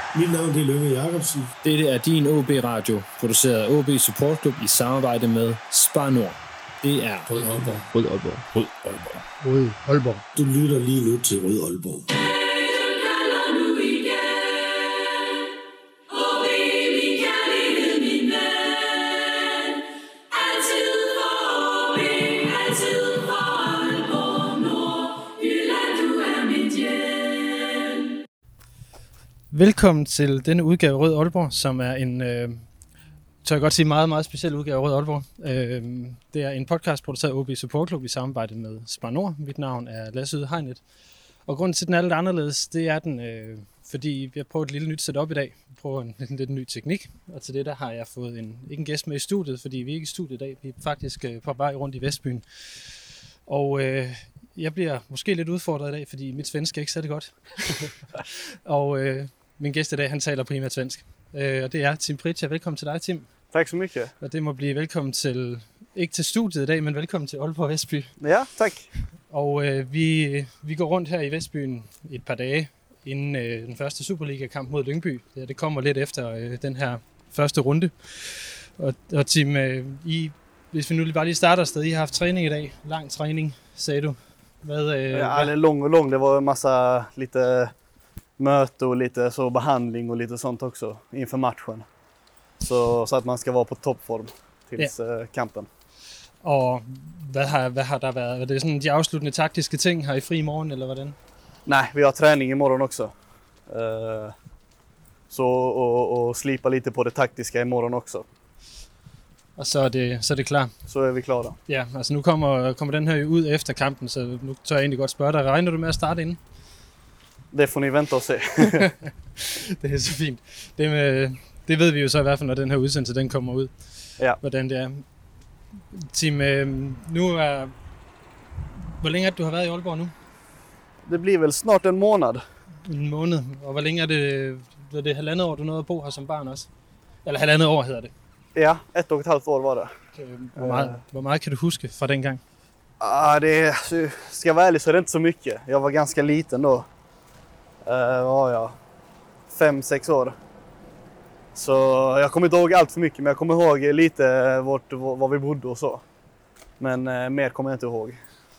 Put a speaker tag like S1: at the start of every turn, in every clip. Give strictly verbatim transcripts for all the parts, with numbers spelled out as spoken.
S1: Mit navn er Lønge Jacobsen.
S2: Dette er din O B-radio, produceret af O B Support Club i samarbejde med Spar Nord. Det er
S1: Rød Aalborg.
S2: Rød Aalborg.
S1: Rød Aalborg.
S3: Rød Aalborg.
S1: Du lytter lige nu til Rød Aalborg.
S3: Velkommen til denne udgave af Rød Aalborg, som er en, øh, tør jeg godt sige, meget, meget speciel udgave af Rød Aalborg. Øh, det er en podcast produceret af O B Support Club i samarbejde med Spar Nord. Mit navn er Lasse Yde Hegnet. Og grunden til, at den er lidt anderledes, det er den, øh, fordi vi har prøvet et lille nyt setup i dag. Vi prøver en, en lidt ny teknik, og til det der har jeg fået en, ikke en gæst med i studiet, fordi vi er ikke i studiet i dag. Vi er faktisk øh, på vej rundt i Vestbyen. Og øh, jeg bliver måske lidt udfordret i dag, fordi mit svensk er ikke særlig godt. og øh, min gæst i dag, han taler primært svensk. Øh, og det er Tim Pritja. Velkommen til dig, Tim.
S4: Tak så mycket.
S3: Og det må blive velkommen til, ikke til studiet i dag, men velkommen til Aalborg Vestby.
S4: Ja, tak.
S3: Og øh, vi, vi går rundt her i Vestbyen et par dage inden øh, den første Superliga-kamp mod Lyngby. Det, det kommer lidt efter øh, den her første runde. Og, og Tim, øh, I, hvis vi nu bare lige starter afsted, I har haft træning i dag. Lang træning, sagde du. Hvad, øh,
S4: Ja, eller lång och lång. Det var en massa lite möte och lite så behandling och lite sånt också inför matchen. Så, så att man ska vara på toppform tills ja. kampen.
S3: Og hvad har, hvad har der været? Er det sådan de afsluttende taktiske ting her i fri morgen, eller hvordan?
S4: Nej, vi har träning imorgon också. Uh, så och, och slipa lite på det taktiska imorgon också.
S3: Og så er det, så er det klar.
S4: Så er vi klar.
S3: Ja, altså nu kommer, kommer den her ud efter kampen, så nu tør jeg egentlig godt spørge dig. Regner du med at starte inden?
S4: Det får ni vente og se.
S3: Det er så fint. Det, med, det ved vi jo så i hvert fald, når den her udsendelse den kommer ud.
S4: Ja.
S3: Hvordan det er. Tim, nu er... Hvor længe er det, du har været i Aalborg nu?
S4: Det bliver vel snart en måned.
S3: En måned. Og hvor længe er det? Er det halvandet år, du nåede at bo her som barn også? Eller halvandet år hedder det?
S4: Ja, ett och ett halvt år var det.
S3: Hvor meget, hvor meget kan du huske fra den gang?
S4: Ah, det ska jag vara ärlig så är det inte så mycket. Jag var ganska liten då. Uh, var jag fem, sex år. Så jag kommer inte ihåg allt för mycket, men jag kommer ihåg lite vart, var vi bodde och så. Men uh, mer kommer jag inte ihåg.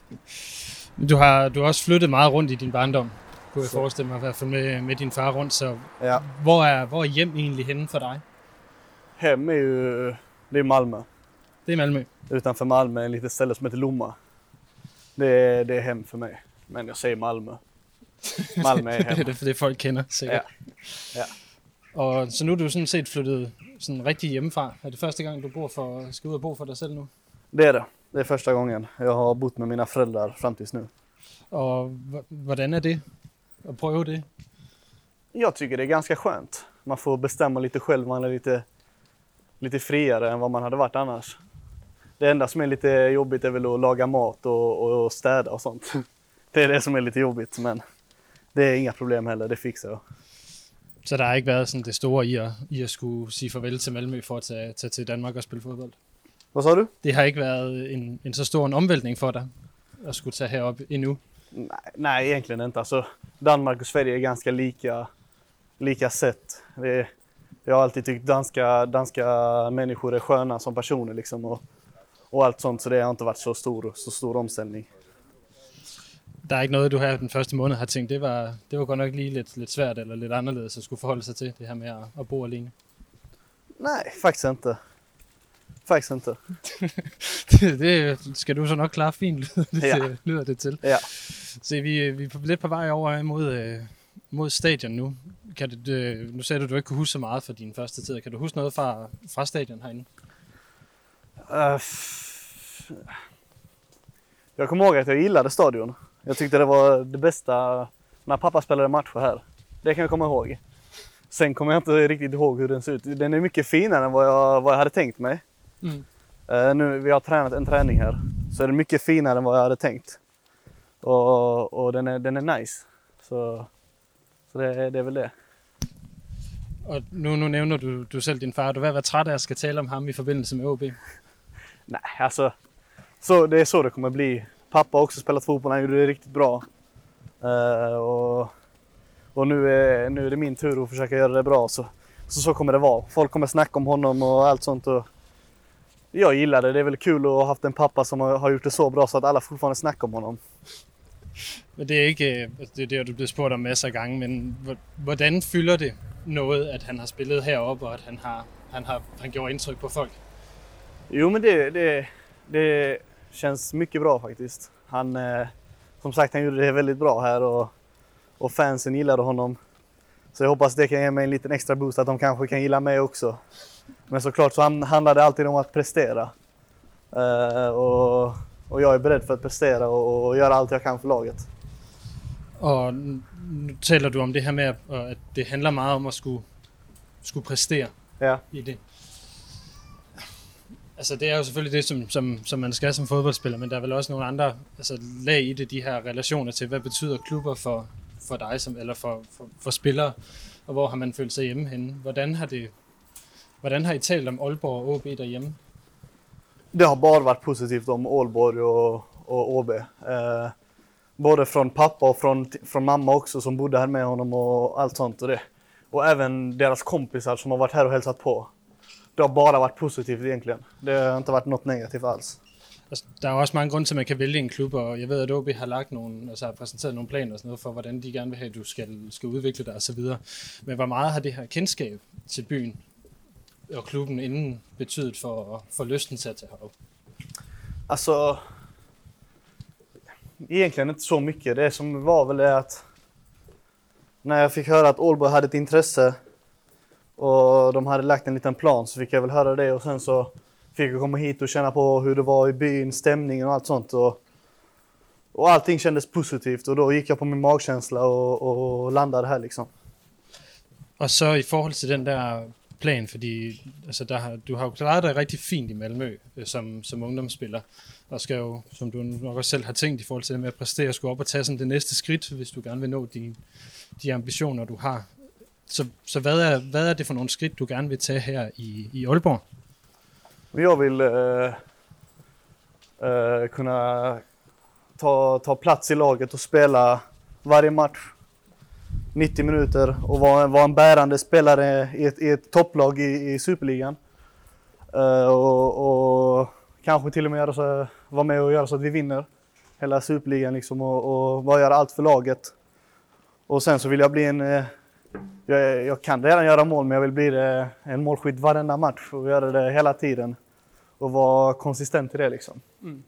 S3: Du har, du har også flyttet meget rundt i din barndom, kunne jeg forestille mig, i hvert fald med, med din far rundt. Så
S4: ja.
S3: hvor, er, hvor er hjem egentlig henne for dig?
S4: Hem är ju det är Malmö.
S3: Det är Malmö.
S4: Utanför Malmö, en litet ställe som heter Lomma. Det är, det är hem för mig. Men jag säger Malmö. Malmö är hem.
S3: Det er det, det folk kender, sikkert.
S4: Ja. Ja.
S3: Og så nu er du sådan set flyttet sådan rigtig hjemmefra. Er det første gang, du bor for, skal ud og bo for dig selv nu?
S4: Det är det. Det är första gången. Jag har bott med mina föräldrar fram tills nu.
S3: Og hvordan er det at prøve det?
S4: Jag tycker det är ganska skönt. Man får bestämma lite själv. Man är lite, lite friare än vad man hade varit annars. Det enda som är lite jobbigt är väl att laga mat och, och städa och sånt. Det är det som är lite jobbigt, men det är inga problem heller. Det fixar jag.
S3: Så der har ikke været sådan det store i at, i at skulle sige farvel til Malmø for at tage, tage til Danmark og spille fodbold?
S4: Hvad sa du?
S3: Det har ikke været en, en så stor en omvältning for dig at skulle tage herop endnu?
S4: Nej, nej, egentligen inte. Alltså, Danmark och Sverige är ganska lika, lika sätt. Det, jag har alltid tyckt danska, danska människor är sköna som personer liksom, och, och allt sånt, så det har inte varit så stor, så stor omställning.
S3: Der er ikke noget, du her den første måned har tænkt, det var, det var godt nok lige lidt, lidt svært eller lidt anderledes at skulle forholde sig til det her med at, at bo alene?
S4: Nej, faktiskt inte. Faktiskt inte.
S3: det, det skal du så nok klare fint, det
S4: ja.
S3: lyder det til.
S4: Ja.
S3: Så vi, vi er lidt på vej over mod, mod stadion nu. Kan du, nu sagde du, at du ikke kunne huske så meget fra din første tid. Kan du huske noget fra, fra stadion herinde?
S4: Uh, jag kommer ihåg att jag gillade stadion. Jag tyckte det var det bästa när pappa spelade matcher här. Det kan jag komma ihåg. Sen kommer jag inte riktigt ihåg hur den ser ut. Den är mycket finare än vad jag, vad jag hade tänkt mig. Mm. Uh, nu vi har tränat en träning här, så är det mycket finare än vad jag hade tänkt. Och, och den, är, den är nice. Så, så det, det är väl det.
S3: Og nu, nu nævner du, du selv din far. Du vil være træt af at skal tale om ham i forbindelse med O B?
S4: Nej, alltså så det är så det kommer bli. Pappa har också spelat fotboll, han gjorde det riktigt bra. Uh, och, Och nu är, nu är det min tur att försöka göra det bra. Så, så, så kommer det vara. Folk kommer snacka om honom och allt sånt. Och jag gillar det. Det är väl kul att ha haft en pappa som har, har gjort det så bra så att alla fortfarande snackar om honom.
S3: Men det er ikke det, er det du bliver spurgt om masser af gange, men hvordan fylder det noget, at han har spillet heroppe, og at han har, han har han gjort indtryk på folk?
S4: Jo, men det, det, det känns mycket bra faktiskt. Han, eh, som sagt, han gjorde det väldigt bra här och, och fansen gillade honom. Så jag hoppas det kan ge mig en liten extra boost att de kanske kan gilla mig också. Men såklart så handlar det alltid om att prestera. Eh, och, och jag är beredd för att prestera och, och göra allt jag kan för laget.
S3: Og nu taler du om det her med, at det handler meget om at skulle, skulle præstere
S4: Ja.
S3: i det. Altså det er jo selvfølgelig det, som, som, som man skal som fodboldspiller, men der er vel også nogle andre altså, lag i det, de her relationer til, hvad betyder klubber for, for dig, som, eller for, for, for spillere, og hvor har man følt sig hjemme henne? Hvordan har, det, hvordan har I talt om Aalborg og O B derhjemme?
S4: Det har bara varit positivt om Aalborg och, och O B. Eh, både från pappa och från, från mamma också som bodde här med honom och allt sånt och det. Och även deras kompisar som har varit här och hälsat på. Det har bara varit positivt egentligen. Det har inte varit något negativt alls.
S3: Altså, der er jo også mange grunde til, at man kan vælge en klub, og jeg ved, at O B har lagt nogle, altså har præsenteret nogle planer og sådan noget for, hvordan de gerne vil have, at du skal, skal udvikle dig og så videre. Men hvor meget har det her kendskab til byen og klubben inden betydet for, for lysten til at tage herop?
S4: Alltså, egentligen inte så mycket. Det som var väl det att när jag fick höra att Aalborg hade ett intresse och de hade lagt en liten plan så fick jag väl höra det och sen så fick jag komma hit och känna på hur det var i byn, stämningen och allt sånt. Och, och allting kändes positivt och då gick jag på min magkänsla och, og landade här liksom.
S3: Og så i forhold til den der plan, fordi altså der har, du har jo klaret dig rigtig fint i Malmø øh, som, som ungdomsspiller, og skal jo, som du nok også selv har tænkt i forhold til det med at præstere, skulle op og tage sådan det næste skridt, hvis du gerne vil nå de, de ambitioner, du har. Så, så hvad, er, hvad er det for nogle skridt, du gerne vil tage her i, i Aalborg?
S4: Jag vill äh, äh, kunna ta, ta plats i laget och spela varje match nittio minuter och vara, vara en bärande spelare i ett, i ett topplag i, i Superligan. Uh, och, och kanske till och med göra så, vara med och göra så att vi vinner hela Superligan liksom, och, och bara göra allt för laget. Och sen så vill jag bli en... Uh, jag, jag kan redan göra mål, men jag vill bli uh, en målskytt varenda match och göra det hela tiden. Och vara konsistent i det liksom.
S3: Mm.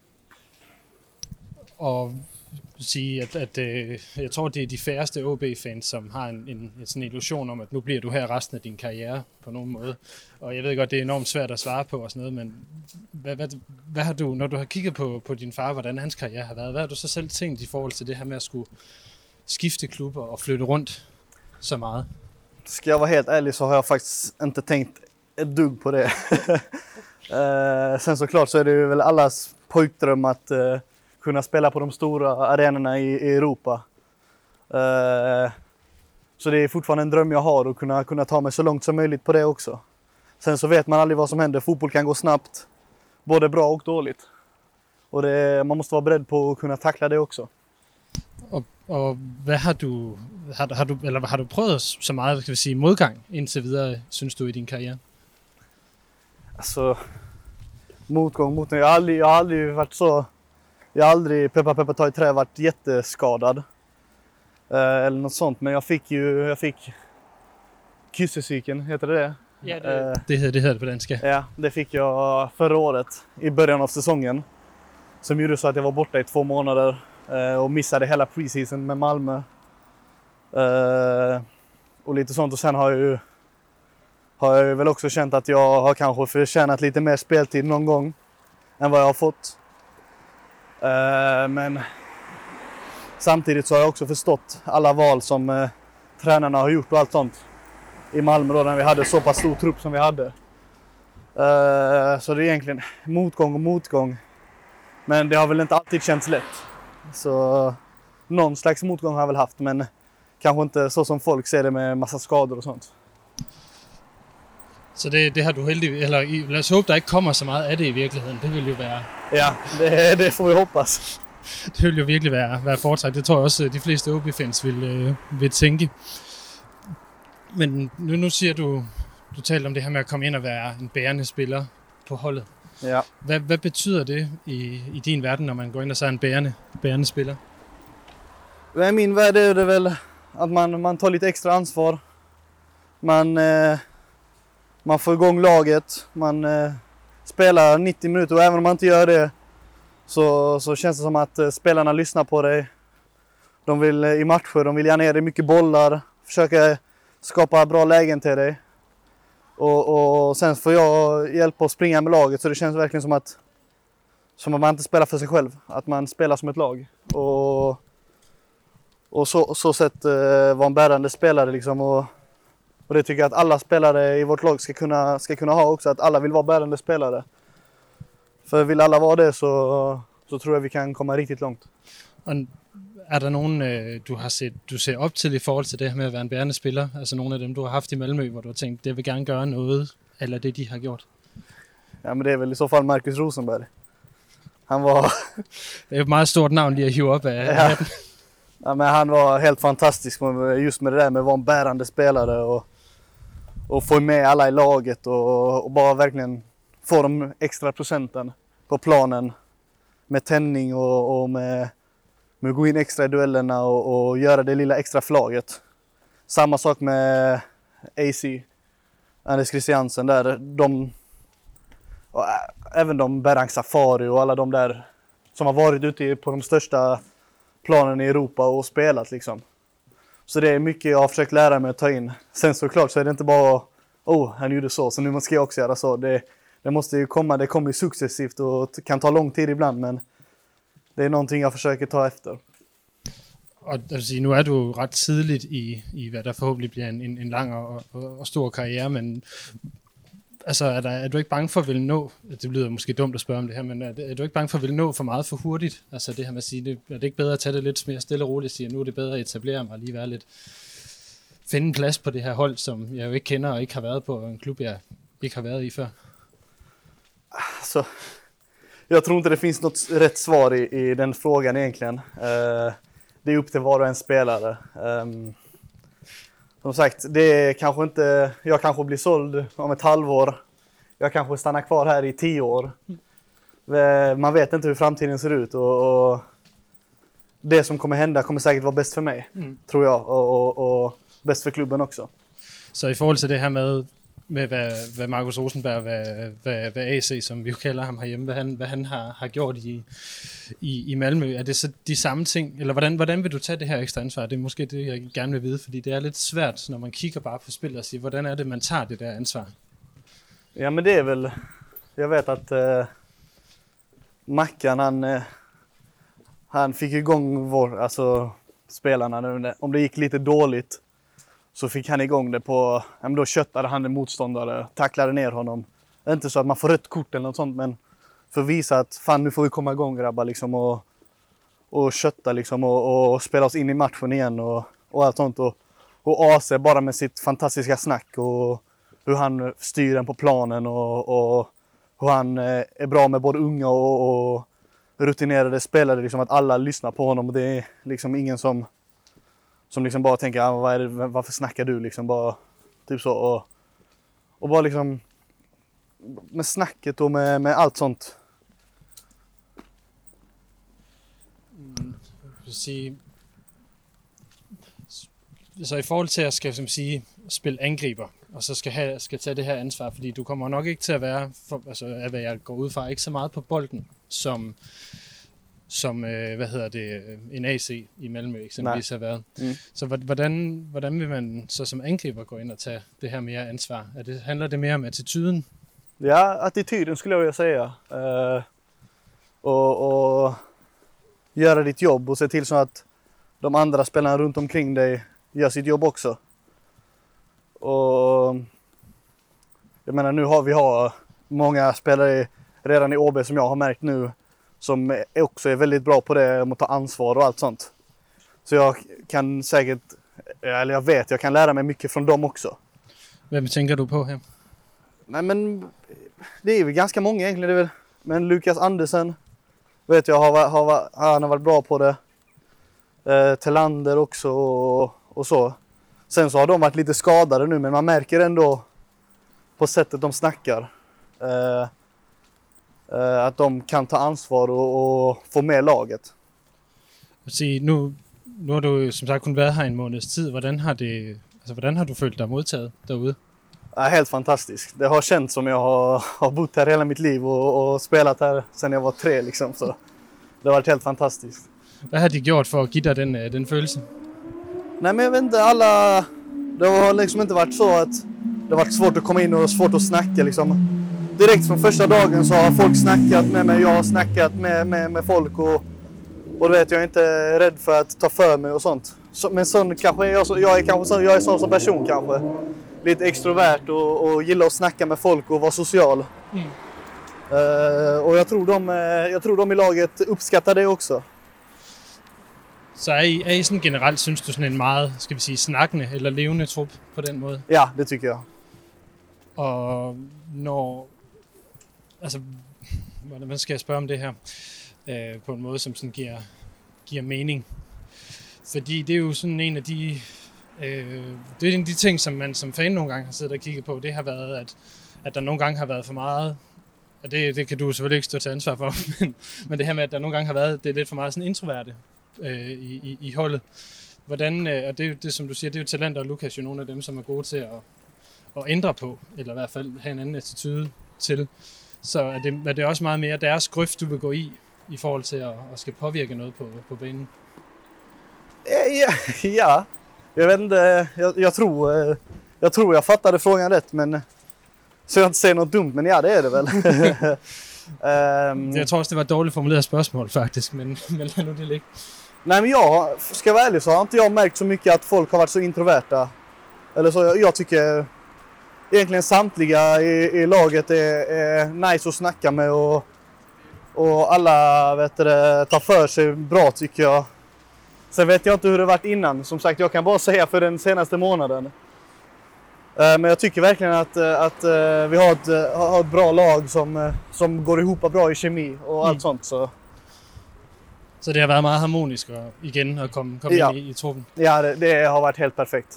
S3: Og sige, at, at øh, jeg tror, det er de færreste O B-fans, som har en, en, en sådan illusion om, at nu bliver du her resten af din karriere på nogen måde. Og jeg ved godt, det er enormt svært at svare på og sådan noget, men hvad, hvad, hvad har du, når du har kigget på, på din far, hvordan hans karriere har været, hvad har du så selv tænkt i forhold til det her med at skulle skifte klubber og flytte rundt så meget?
S4: Ska jag vara helt ärlig så har jag faktiskt inte tänkt ett dugg på det. uh, sen såklart så är det ju väl allas pojkdröm att uh, kunna spela på de stora arenorna i, i Europa. Uh, så det är fortfarande en dröm jag har att kunna, kunna ta mig så långt som möjligt på det också. Sen så vet man aldrig vad som händer. Fotboll kan gå snabbt, både bra och dåligt. Och det, man måste vara beredd på att kunna tackla det också.
S3: Og, og hvad har du, har, har du, eller har du prøvet så meget, skal vi sige, modgang indtil videre, synes du, i din karriere?
S4: Alltså, motgång, motgång. Jag har aldrig, jag har aldrig varit så... Jag har aldrig, peppa peppa ta i trä, varit jätteskadad. Eh, eller något sånt. Men jag fick ju, jag fick kyssecykeln, heter det det?
S3: Ja, det, eh, det, hedder, det hedder det på danska.
S4: Ja, det fick jag förra året i början av säsongen. Som gjorde så att jag var borta i två månader eh, och missade hela preseason med Malmö. Eh, och lite sånt. Och sen har jag ju har jag väl också känt att jag har kanske förtjänat lite mer speltid någon gång än vad jag har fått. Uh, men samtidigt så har jag också förstått alla val som uh, tränarna har gjort och allt sånt i Malmö då, när vi hade så pass stor trupp som vi hade. Uh, så det är egentligen motgång och motgång. Men det har väl inte alltid känts lätt. Så uh, någon slags motgång har jag väl haft, men kanske inte så som folk ser det med massa skador och sånt.
S3: Så det, det har du heldigvis, eller lad os håbe, der ikke kommer så meget af det i virkeligheden. Det vil jo være...
S4: Ja, det, det får vi hoppas.
S3: Det vil jo virkelig være, være foretræk. Det tror jeg også, de fleste O B-fans vil, øh, vil tænke. Men nu, nu siger du, du taler om det her med at komme ind og være en bærende spiller på holdet.
S4: Ja.
S3: Hvad, hvad betyder det i, i din verden, når man går ind og så er en bærende, bærende spiller?
S4: I min värld är det väl att man, man tar lite extra ansvar. Man, eh, man får igång laget. Man eh, spelar nittio minuter och även om man inte gör det så, så känns det som att eh, spelarna lyssnar på dig. De vill eh, i matcher, de vill gärna ge dig mycket bollar. Försöka skapa bra lägen till dig. Och, och sen får jag hjälpa att springa med laget så det känns verkligen som att, som att man inte spelar för sig själv. Att man spelar som ett lag. Och... Och så, så sätt eh, vara en bärande spelare liksom och, och det tycker jag att alla spelare i vårt lag ska kunna, ska kunna ha också. Att alla vill vara bärande spelare. För vill alla vara det så, så tror jag vi kan komma riktigt långt.
S3: Og er der nogen, øh, du har set, du ser op til i forhold til det her med at være en bærende spiller? Altså nogle af dem, du har haft i Malmö, hvor du har tænkt, det vil gerne gøre noget, eller det de har gjort?
S4: Ja, men det är väl i så fall Marcus Rosenberg. Han var...
S3: Det er et meget stort navn lige at hive op af.
S4: Ja. Ja, men han var helt fantastisk just med det där med att vara en bärande spelare och, och få med alla i laget och, och bara verkligen få de extra procenten på planen med tändning och, och med, med att gå in extra i duellerna och, och göra det lilla extra flaget. Samma sak med A C, Anders Christiansen där, de, och även de Berang Safari och alla de där som har varit ute på de största planen i Europa och spelat liksom. Så det är mycket jag har försökt lära mig att ta in. Sen såklart så är det inte bara oh, han gjorde så, så nu ska jag också göra så. Det, det måste ju komma, det kommer ju successivt och kan ta lång tid ibland, men det är någonting jag försöker ta efter.
S3: Og altså, nu er du ret tidligt i, i hvad der forhåbentlig bliver en, en, en lang og, og, og stor karriere, men altså, er, der, er du ikke bange for at ville nå, det lyder måske dumt at spørge om det her, men er, er du ikke bange for at ville nå for meget for hurtigt? Altså det her med at sige, det, er det ikke bedre at tage det lidt mere stille og roligt og sige, at nu er det bedre at etablere mig og lige være lidt, finde en plads på det her hold, som jeg jo ikke kender og ikke har været på, en klub jeg ikke har været i før?
S4: Så, jag tror inte det finns något rätt svar i, i den frågan egentligen. Uh, det är upp till var och en spelare. Um, Som sagt, det är kanske inte, jag kanske blir såld om ett halvår. Jag kanske stannar kvar här i tio år. Man vet inte hur framtiden ser ut och, och det som kommer hända kommer säkert vara bäst för mig, mm. tror jag. Och, och, och bäst för klubben också.
S3: Så i forhold til det her med, med hvad, hvad Marcus Rosenberg, hvad, hvad, hvad A C, som vi jo kalder ham herhjemme, hvad han, hvad han har, har gjort i, i, i Malmö, er det så de samme ting? Eller hvordan, hvordan vil du tage det her ekstra ansvar? Det er måske det, jeg gerne vil vide, fordi det er lidt svært, når man kigger bare på spillet og siger, hvordan er det, man tager det der ansvar?
S4: Ja, men det är väl, jag vet att uh, Mackan, han, uh, han fick igång vår, alltså spelarna nu. Om det gick lite dåligt så fick han igång det på, ja, men då köttade han en motståndare, tacklade ner honom. Inte så att man får rött kort eller något sånt, men för att visa att fan, nu får vi komma igång grabbar liksom, och, och kötta liksom, och, och spela oss in i matchen igen och, och allt sånt. Och, och A C bara med sitt fantastiska snack och hur han styr den på planen och, och hur han är bra med både unga och, och rutinerade spelare, liksom, att alla lyssnar på honom och det är liksom ingen som Som liksom bara tänker, ah, vad är det, varför snackar du liksom bara typ så och, och bara liksom med snacket och med, med allt sånt.
S3: Mm, sige, så i forhold til at skal som sige spille angriber og så skal have skal tage det her ansvar, fordi du kommer nok ikke til at være for, altså at hvad jeg går ud fra ikke så meget på bolden som som, øh, hvad hedder det, en A C i Malmö eksempelvis har været. Mm. Så hvordan, hvordan vil man så som angriber gå ind og tage det her mere ansvar? Er det, handler det mere om attityden?
S4: Ja, attityden skulle jag vilja säga. Uh, och, och göra ditt jobb och se till så att de andra spelarna runt omkring dig gör sitt jobb också. Och jag menar, nu har vi har många spelare redan i O B som jag har märkt nu som också är väldigt bra på det, om att ta ansvar och allt sånt. Så jag kan säkert, eller jag vet, jag kan lära mig mycket från dem också.
S3: Vem tänker du på här?
S4: Nej, men det är väl ganska många egentligen. Det är väl, men Lukas Andersen vet jag har, har, han har varit bra på det. Eh, Telander också och, och så. Sen så har de varit lite skadade nu, men man märker ändå på sättet de snackar eh, eh, att de kan ta ansvar och, och få med laget.
S3: Se, nu, nu har du som sagt kun været her en måneds tid. Hvordan har, det, altså, hvordan har du følt dig modtaget derude?
S4: Ja, helt fantastiskt. Det har känts som jag har, har bott här hela mitt liv och, och spelat här sedan jag var tre. Liksom, så det har varit helt fantastiskt.
S3: Hvad har de gjort för att ge dig den, den følelse?
S4: Nej, men jag vet inte, alla... Det har liksom inte varit så att det har varit svårt att komma in och svårt att snacka. Liksom. Direkt från första dagen så har folk snackat med mig. Jag har snackat med, med, med folk och, och du vet, jag är inte rädd för att ta för mig och sånt. Så, men sån kanske jag, jag är kanske så, jag är sån som person kanske. Lite extrovert och, och gillar att snacka med folk och vara social. Mm. Uh, och jag tror, de, jag tror de i laget uppskattar det också.
S3: Så er I, er I sådan generelt, synes du, sådan en meget, skal vi sige, snakkende eller levende trup på den måde?
S4: Ja, det tycker jag.
S3: Og når, altså, hvordan skal jeg spørge om det her, øh, på en måde, som sådan giver, giver mening? Fordi det er jo sådan en af de, øh, det er en af de ting, som man som fan nogle gange har siddet og kigget på, det har været, at, at der nogle gange har været for meget, og det, det kan du selvfølgelig ikke stå til ansvar for, men, men det her med, at der nogle gange har været, det er lidt for meget sådan introverte øh, i, i, i holdet. Hvordan, øh, og det er jo det, som du siger, det er jo talenter, og Lukas jo nogle af dem, som er gode til at, at ændre på, eller i hvert fald have en anden attitude til. Så er det, er det også meget mere deres grøft, du vil gå i, i forhold til at, at skal påvirke noget på, på banen?
S4: Ja, ja, jag vet inte, jag, jag, tror, jag tror jag fattade frågan rätt, men så jag inte säger något dumt, men ja, det är det väl. um,
S3: jag tror också det var ett dåligt formulerat spørgsmål faktiskt, men, men lad nu det ligge.
S4: Nej, men jag ska vara ärlig så har inte jag märkt så mycket att folk har varit så introverta. Eller så, jag, jag tycker egentligen samtliga i, i laget är, är nice att snacka med och, och alla vet det, tar för sig bra tycker jag. Sen vet jag inte hur det varit innan. Som sagt, jag kan bara säga för den senaste månaden. Men jag tycker verkligen att, att vi har ett, har ett bra lag som, som går ihop bra i kemi och allt mm. sånt. Så.
S3: så det har været meget harmonisk og, igen at komme, komme
S4: ja.
S3: ind i, i truppen?
S4: Ja, det, det har varit helt perfekt.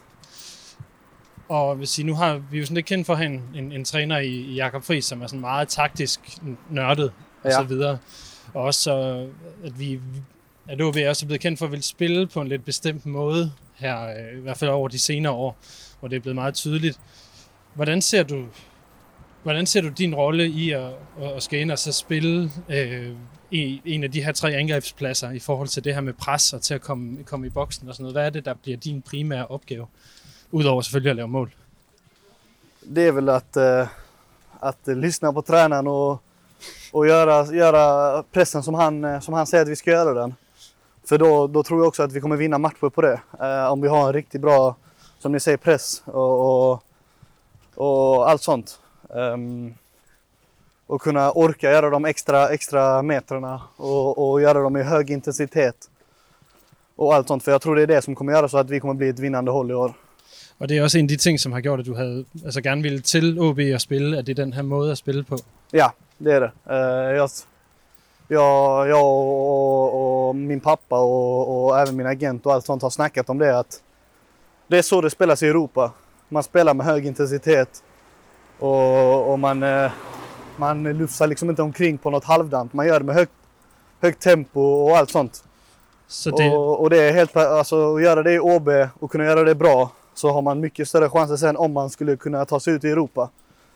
S3: Og hvis I, nu har vi jo sådan lidt kendt for at have en, en, en træner i, i Jakob Friis, som er sådan meget taktisk nørdet og
S4: ja.
S3: så videre. Og også så, at vi... at O B er også blevet kendt for at ville spille på en lidt bestemt måde her, i hvert fald over de senere år, hvor det er blevet meget tydeligt. Hvordan ser du, hvordan ser du din rolle i at, at skal ind og så spille øh, i en af de her tre angrebspladser i forhold til det her med pres og til at komme, komme i boksen og sådan noget? Hvad er det, der bliver din primære opgave, udover selvfølgelig at lave mål?
S4: Det är väl att, uh, att lyssna på tränaren och, och göra, göra pressen som han, som han säger att vi ska göra den. För då, då tror jag också att vi kommer vinna matcher på det. Eh, om vi har en riktigt bra, som ni säger, press och, och, och allt sånt. Um, och kunna orka göra de extra, extra metrarna och, och göra dem i hög intensitet. Och allt sånt. För jag tror det är det som kommer göra så att vi kommer bli ett vinnande håll i år.
S3: Og det er også en af de ting, som har gjort, at du havde altså gerne ville til O B at spille, at det er den her måde at spille på.
S4: Ja, det är det. Uh, jag... Jag, jag och, och min pappa och, och även min agent och allt sånt har snackat om det. Att det är så det spelas i Europa. Man spelar med hög intensitet. Och, och man, man lufsar liksom inte omkring på något halvdant. Man gör det med högt, högt tempo och allt sånt.
S3: Så det...
S4: Och, och det är helt, alltså, att göra det i O B och kunna göra det bra. Så har man mycket större chanser sen om man skulle kunna ta sig ut i Europa.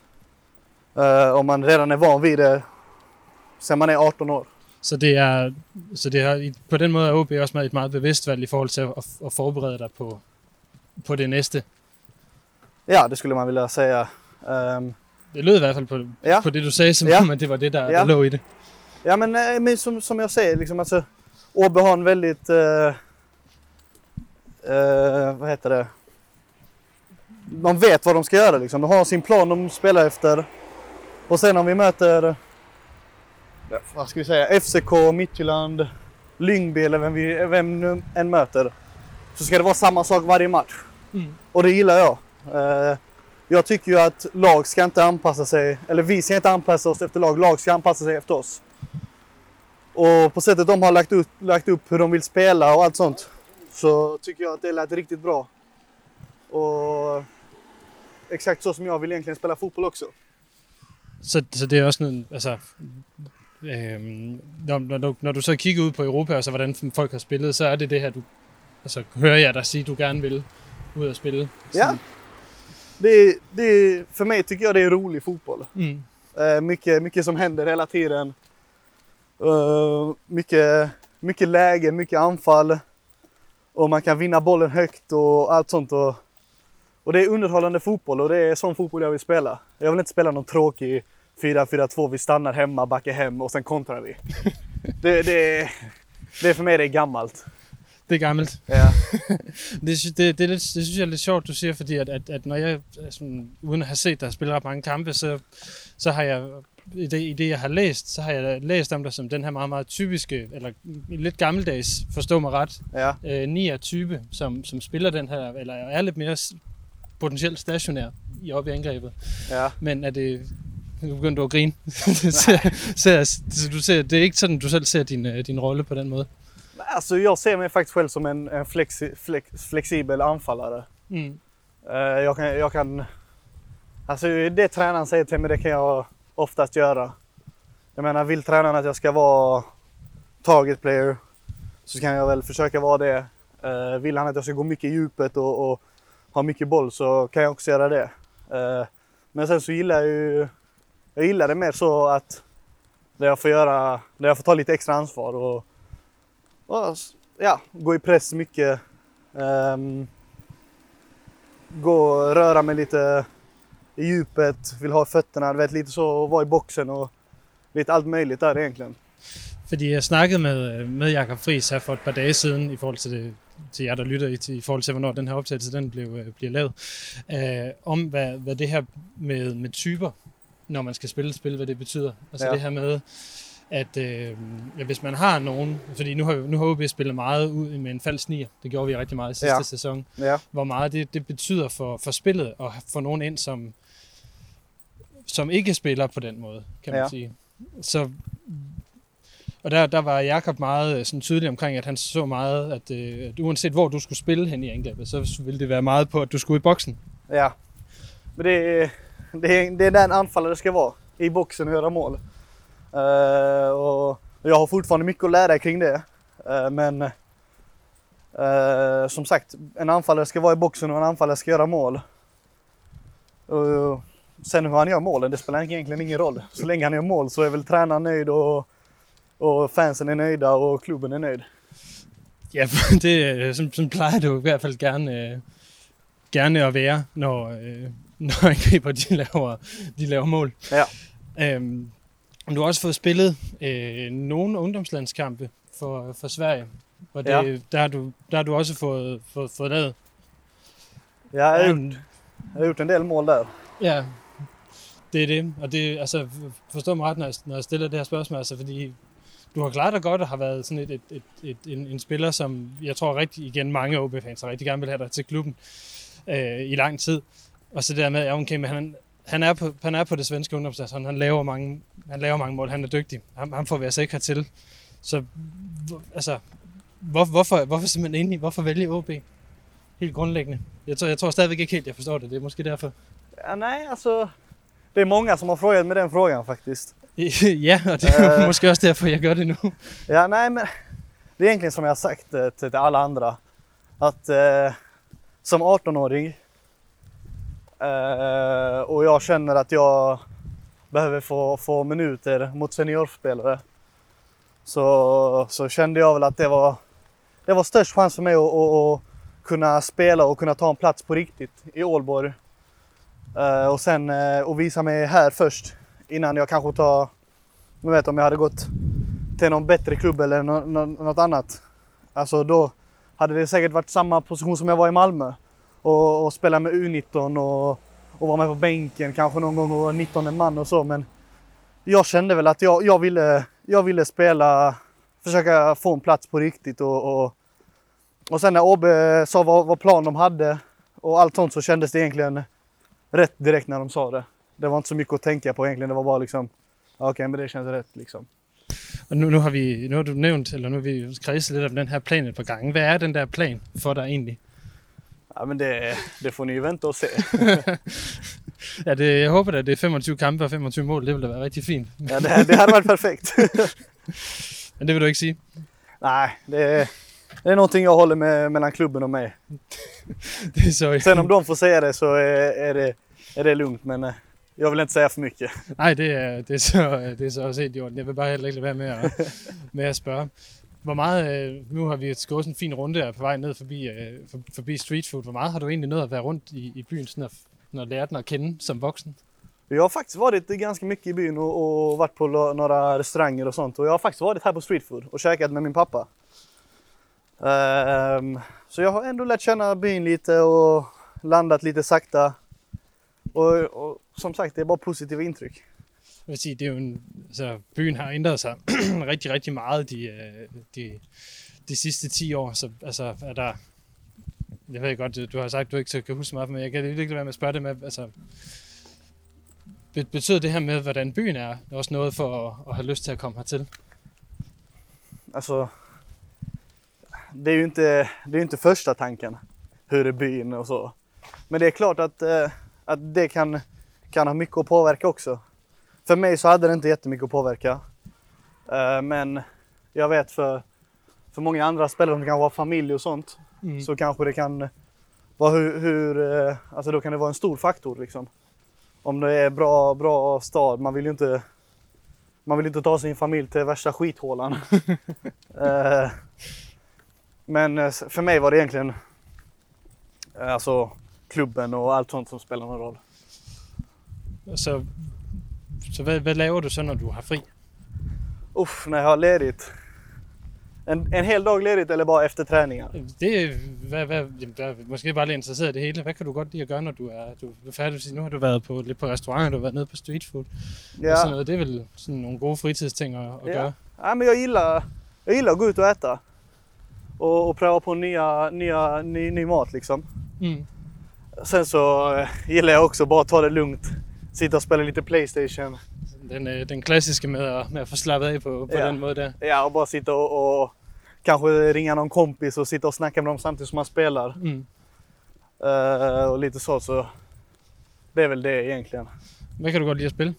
S4: Uh, om man redan är van vid det. Sen man er atten år.
S3: Så det er, så det er på den måde er O B også med et meget bevidst valg i forhold til at, at forberede dig på, på det næste.
S4: Ja, det skulle man vilja säga. Um,
S3: det lød i hvert fald på,
S4: ja.
S3: på det du sagde, som
S4: ja.
S3: om det var det, der,
S4: ja.
S3: der lå i det.
S4: Ja, men, men som, som jag säger, liksom, alltså, O B har en väldigt, uh, uh, vad heter det? De vet vad de ska göra, liksom. De har sin plan de spelar efter. Och sen om vi möter... vad ska vi säga, F C K, Midtjylland, Lyngby eller vem, vi, vem nu än möter, så ska det vara samma sak varje match. Mm. Och det gillar jag. Uh, jag tycker ju att lag ska inte anpassa sig, eller vi ska inte anpassa oss efter lag, lag ska anpassa sig efter oss. Och på sättet de har lagt upp, lagt upp hur de vill spela och allt sånt, så tycker jag att det lät riktigt bra. Och exakt så som jag vill egentligen spela fotboll också.
S3: Så, så det er også noget, altså, øhm, når, når, du, når du så kigger ud på Europa, og så hvordan folk har spillet, så er det det her, du, altså hører jeg dig sige, du gerne vil ud og spille?
S4: Ja, det, det, för mig tycker jag det är rolig fotboll. Mm. Uh, mycket, mycket som händer hela tiden. Uh, mycket, mycket läge, mycket anfall. Och man kan vinna bollen högt och allt sånt. Och, och det är underhållande fotboll och det är sån fotboll jag vill spela. Jag vill inte spela någon tråkig fyra fyra två, vi stannar hemma, backar hem och sen kontrar vi. det, det, det för mig det är gammalt.
S3: Det er gammelt.
S4: Ja.
S3: det, det, det, er lidt, det synes jeg er lidt sjovt, du siger, fordi at, at, at når jeg, sådan, uden at have set dig spille ret mange kampe, så, så har jeg, i det, i det jeg har læst, så har jeg læst om dig som den her meget, meget typiske, eller lidt gammeldags, forstå mig ret,
S4: ja.
S3: øh, nier-type, som, som spiller den her, eller er lidt mere potentielt stationær i op i angrebet.
S4: Ja.
S3: Men er det... Nu begynder du at grine. ser, ser, du ser, det er ikke sådan, du selv ser din, din rolle på den måde.
S4: Alltså jag ser mig faktiskt själv som en, en flexi, flex, flexibel anfallare. Mm. Uh, jag kan, jag kan, alltså det tränaren säger till mig, det kan jag oftast göra. Jag menar, vill tränaren att jag ska vara target player så kan jag väl försöka vara det. Uh, vill han att jag ska gå mycket i djupet och, och ha mycket boll så kan jag också göra det. Uh, men sen så gillar jag ju, jag gillar det mer så att där jag får göra, där jag får ta lite extra ansvar och Och, ja, gå i press mycket. Um, gå och röra mig lite i djupet. Vill ha fötterna, vet, lite så. Vara i boxen och lite allt möjligt där egentligen.
S3: Fordi jeg snakkede med, med Jakob Friis her for et par dage siden, i forhold til, det, til jer, der lytter i, til, i forhold til, hvornår den her optagelse den blev, bliver lavet, øh, om hvad, hvad det her med, med typer, når man skal spille spil, hvad det betyder. Altså ja. Det her med... at øh, ja, hvis man har nogen, fordi nu har, nu har O B spillet meget ud med en falsk nier, det gjorde vi rigtig meget i sidste ja. sæson, ja. Hvor meget det, det betyder for, for spillet at få nogen ind, som, som ikke spiller på den måde, kan man ja. sige. Så, og der, der var Jakob meget sådan tydelig omkring, at han så meget, at, øh, at uanset hvor du skulle spille hen i angrebet, så ville det være meget på, at du skulle i boksen. Ja,
S4: men det, det, det är den anfallare det ska vara, i boxen och göra mål. Uh, och jag har fortfarande mycket att lära kring det. Uh, men uh, som sagt, en anfallare ska vara i boxen och en anfallare ska göra mål. Uh, sen hur han gör målen, det spelar egentligen ingen roll. Så länge han gör mål så är väl tränaren nöjd och, och fansen är nöjda och klubben är nöjd.
S3: Ja, det som, som plejer du i hvert fald gerne, gerne at være, når, når angriber de laver, de laver mål. Ja. Um, Du har også fået spillet øh, nogle ungdomslandskampe for, for Sverige, og det, ja. der, har du, der har du også fået, fået, fået lavet.
S4: Ja, jeg har, gjort, jeg har gjort en del mål der.
S3: Ja, det er det. Og det, altså, forstår mig ret, når jeg, når jeg stiller det her spørgsmål, altså, fordi du har klaret dig godt og har været sådan et, et, et, et, en, en spiller, som jeg tror rigtig, igen mange O B-fans rigtig gerne vil have dig til klubben øh, i lang tid. Og så der med, ja, okay, men han... Han er, på, han er på det svenske ungdomslandshold. Han laver mange, han laver mange mål. Han er dygtig. Ham, ham får vi altså ikke hertil. Så altså, hvor, hvorfor, hvorfor simpelthen enig? Hvorfor vælge O B? Helt grundlæggende. Jeg tror, jeg tror stadigvæk ikke helt, jeg forstår det. Det är måske därför.
S4: Ja, nej, alltså det är många som har frågat med den frågan faktiskt.
S3: Ja, och det är uh, måske också därför jag gör det nu.
S4: Ja, nej, men det är egentligen som jag har sagt till, till alla andra att uh, som arton-åring Uh, och jag känner att jag behöver få, få minuter mot seniorspelare så, så kände jag väl att det var, det var störst chans för mig att, att, att kunna spela och kunna ta en plats på riktigt i Ålborg uh, och sen uh, och visa mig här först innan jag kanske tar, jag vet om jag hade gått till någon bättre klubb eller no, no, något annat, alltså då hade det säkert varit samma position som jag var i Malmö. Och, och spela med U nitton och, och vara med på bänken kanske någon gång och vara nittonde man och så, men jag kände väl att jag, jag, ville, jag ville spela, försöka få en plats på riktigt och, och, och sen när O B sa vad, vad plan de hade och allt sånt så kändes det egentligen rätt direkt när de sa det. Det var inte så mycket att tänka på egentligen, det var bara liksom okej, okay, men det känns rätt liksom.
S3: Og nu, nu, har vi, nu har du nævnt, eller nu har vi kredset lidt om den her plan et par gange. Hvad er den der plan for dig egentlig?
S4: Ja, men det, det får ni ju vänta och se.
S3: ja, det, jeg håber da, det er femogtyve kampe og femogtyve mål. Det ville da være rigtig fint.
S4: Ja, det, det hade varit perfekt.
S3: Men det vil du ikke sige?
S4: Nej, det, det är någonting jag håller med mellan klubben och mig.
S3: det er så...
S4: Sen om de får säga det så är, är, det, är det lugnt, men jag vill inte säga för mycket.
S3: Nej, det er, det er, så, det er så også helt i orden. Jeg vil bare heller ikke lade være med at, med at spørge. Hvor meget, nu har vi gået sådan en fin runde her på vej ned forbi, forbi street food. Hvor meget har du egentlig nået at være rundt i, i byen, sådan at, når du lærte den at kende som voksen?
S4: Jag har faktiskt varit ganska mycket i byn och, och varit på några restauranger och sånt. Och jag har faktiskt varit här på street food och käkat med min pappa. Um, så jag har ändå lärt känna byn lite och landat lite sakta. Og, og som sagt, det er bare positive indtryk.
S3: Jeg vil sige, det er jo en, altså, byen har ændret sig rigtig, rigtig meget de, de, de sidste ti år. Så altså, er der, jeg ved godt, du har sagt, du ikke kan huske meget, men jeg kan ikke være med at spørge det med, altså, betyder det her med, hvordan byen er, også noget for at, at have lyst til at komme hertil?
S4: Altså, det är ju inte, det är inte första tanken, hur är byn och så. Men det är klart att att det kan, kan ha mycket att påverka också. För mig så hade det inte jättemycket att påverka. Uh, men jag vet för, för många andra spelare som kan ha familj och sånt. Mm. Så kanske det kan vara hur, hur uh, alltså då kan det vara en stor faktor liksom. Om det är bra, bra stad, man vill ju inte man vill inte ta sin familj till värsta skithålan. uh, men uh, för mig var det egentligen uh, alltså klubben och allt sånt som spelar någon roll.
S3: Så, så hvad, hvad laver du så, når du har fri?
S4: Uff, när jag har ledigt. En, en hel dag ledigt eller bara efter träningar?
S3: Det hvad, hvad, hvad, måske bare lidt interesseret i det hele. Hvad kan du godt lide at gøre, når du er, du er færdig? Nu har du været på, lidt på restauranter, du har været nede på street food. Ja. Og sådan noget. Det er vel sådan nogle gode fritidsting at, at
S4: ja.
S3: gøre?
S4: Ja, men jag gillar, jag gillar att gå ut och äta. Och, och pröva på nya, nya, ny, ny mat liksom. Mm. Sen så gillar jag också bara ta det lugnt. Sitta och spela lite PlayStation.
S3: Den, den klassiska med att, med att få slappet av på, på
S4: ja.
S3: den måde där.
S4: Ja, och bara sitta och, och kanske ringa någon kompis och sitta och snacka med dem samtidigt som man spelar. Mm. Uh, och lite så, så det är väl det egentligen.
S3: Vad kan du godt lide att spela?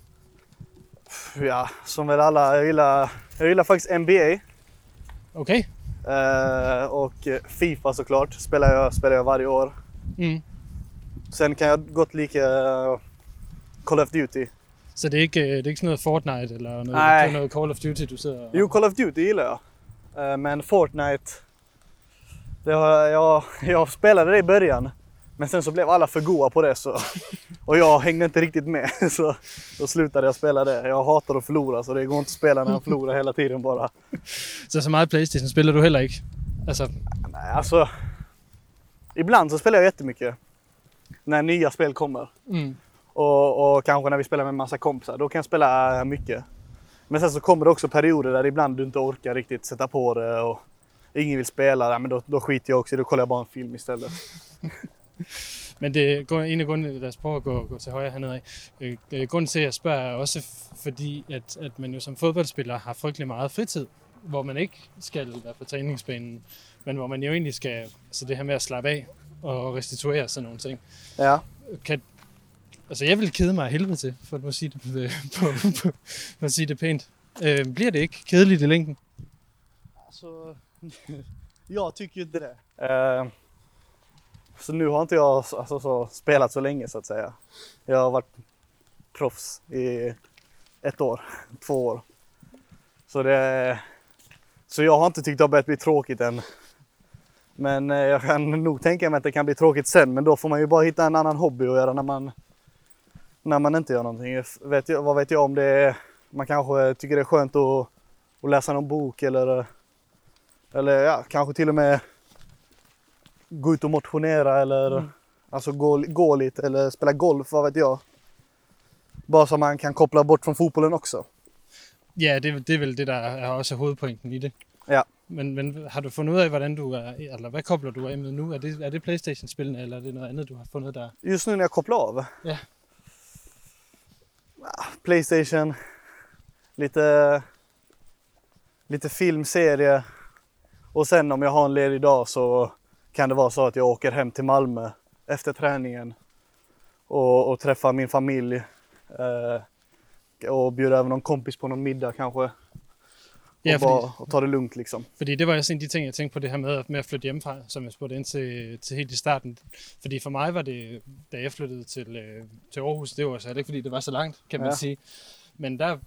S4: Ja, som väl alla. Jag gillar, jag gillar faktiskt N B A.
S3: Okej.
S4: Okay. Uh, och FIFA såklart. Spelar jag, spelar jag varje år. Mm. Sen kan jag gott lika Call of Duty.
S3: Så det är inte, det är inte sådan noget Fortnite eller noget, det noget Call of Duty du sidder og...
S4: Jo, Call of Duty gillar jag. Men Fortnite, det har, jag, jag spelade det i början. Men sen så blev alla för goda på det så, och jag hängde inte riktigt med. Så då slutade jag spela det. Jag hatar att förlora så det går inte att spela när jag förlorar hela tiden bara.
S3: Så så meget PlayStation spelar du heller inte? Alltså...
S4: Nej, alltså... Ibland så spelar jag jättemycket. När nya spel kommer. Mm. Och, och kanske när vi spelar med en massa kompisar. Då kan jag spela mycket. Men sen så kommer det också perioder där ibland du inte orkar riktigt sätta på det. Och ingen vill spela. Ja, men då, då skiter jag också. Då kollar jag bara en film istället.
S3: Men det går en af grundene, lad os prøve at gå, gå til højre hernede af. Øh, grunden til, at jeg spørger, er også fordi, at, at man jo som fodboldspiller har frygtelig meget fritid, hvor man ikke skal være på træningsbanen, men hvor man jo egentlig skal, altså det her med at slappe af og restituere sådan nogle ting.
S4: Ja.
S3: Kan, altså jeg vil kede mig af helvede til, for at sige det, på, på, på at sige det pænt. Øh, bliver det ikke kedeligt i længden?
S4: Altså, jag tycker inte det. Uh... Så nu har inte jag alltså, så, spelat så länge så att säga. Jag har varit proffs i ett år, två år. Så, det, så jag har inte tyckt att det har börjat bli tråkigt än. Men jag kan nog tänka mig att det kan bli tråkigt sen. Men då får man ju bara hitta en annan hobby att göra när man, när man inte gör någonting. Vet jag, vad vet jag om det är, man kanske tycker det är skönt att, att läsa någon bok eller, eller ja, kanske till och med gå ut och motionera eller mm. alltså gå, gå lite eller spela golf, vad vet jag. Bara så man kan koppla bort från fotbollen också.
S3: Ja, det, det är väl det där är också huvudpoängen i det.
S4: Ja.
S3: Men, men har du fundet ud af, hvordan du er, eller hvad kobler du af med nu? Er det, er det PlayStation-spillene, eller er det noget andet, du har fundet der?
S4: Just nu när jag kopplar av?
S3: Ja.
S4: PlayStation, lite, lite filmserie. Och sen om jag har en ledig dag så kan det vara så att jag åker hem till Malmö efter träningen och, och träffar min familj eh, och bjuder över någon kompis på någon middag kanske. Och,
S3: Ja,
S4: bara,
S3: fordi,
S4: och ta det lugnt liksom.
S3: fordi det var også en af de ting, jeg tænkte på det her med, med at flytte hjemmefra, som jeg spurgte ind til, til helt i starten. Fordi for mig var det, da jeg flyttede til, øh, til Aarhus, det var så ikke fordi det var så langt, kan man
S4: Ja.
S3: sige. Men der,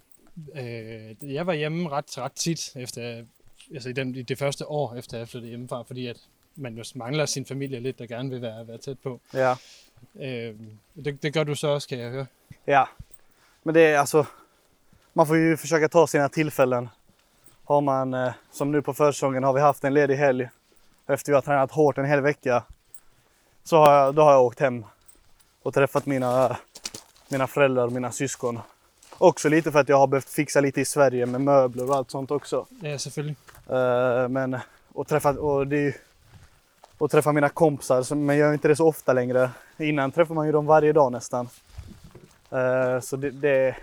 S3: øh, jeg var hjemme ret, ret tit, efter, altså i, den, i det første år, efter jeg flyttede hjemmefra, fordi at man jo mangler sin familie lidt, der gerne vil være, være tæt på.
S4: Ja.
S3: Øh, det, det gør du så også, kan jeg høre.
S4: Ja, men det är alltså, man får ju försöka ta sina tillfällen. Har man, eh, som nu på försäsongen har vi haft en ledig helg. Efter vi har tränat hårt en hel vecka. Så har jag, då har jag åkt hem och träffat mina, mina föräldrar och mina syskon. Också lite för att jag har behövt fixa lite i Sverige med möbler och allt sånt också.
S3: Ja, selvfølgelig.
S4: Eh, men, och träffa, och det är ju, och träffa mina kompisar, så- men jag gör inte det så ofta längre. Innan träffar man ju dem varje dag nästan. Eh, så det, det,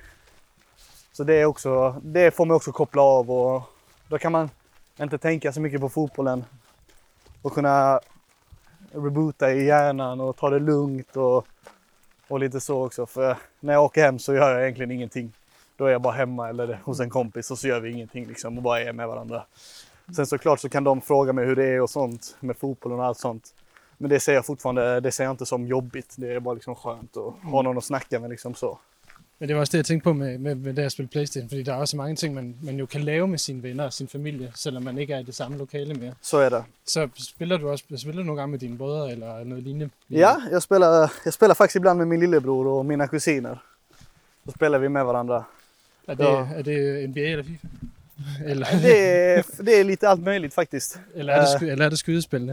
S4: så det är också, det får man också koppla av, och då kan man inte tänka så mycket på fotbollen och kunna reboota i hjärnan och ta det lugnt och, och lite så också. För när jag åker hem så gör jag egentligen ingenting. Då är jag bara hemma eller hos en kompis och så gör vi ingenting liksom och bara är med varandra. Sen såklart så kan de fråga mig hur det är och sånt med fotbollen och allt sånt. Men det ser jag fortfarande, det ser jag inte som jobbigt. Det är bara liksom skönt att ha någon att snacka med liksom så.
S3: Men det var også det, jeg tænkte på med, med, med det at spille PlayStation, fordi der er også mange ting, man, man jo kan lave med sine venner og sin familie, selvom man ikke er i det samme lokale mere.
S4: Så är det.
S3: Så spiller du også spiller du nogle gange med dine brødre eller noget lignende?
S4: Ja, jag spelar, jag spelar faktiskt ibland med min lillebror och mina kusiner. Så spelar vi med varandra.
S3: Er det,
S4: Ja.
S3: er det N B A eller FIFA? Eller,
S4: Det är, det är lite allt möjligt faktiskt.
S3: eller, er det, sky- eller er det skydespillene?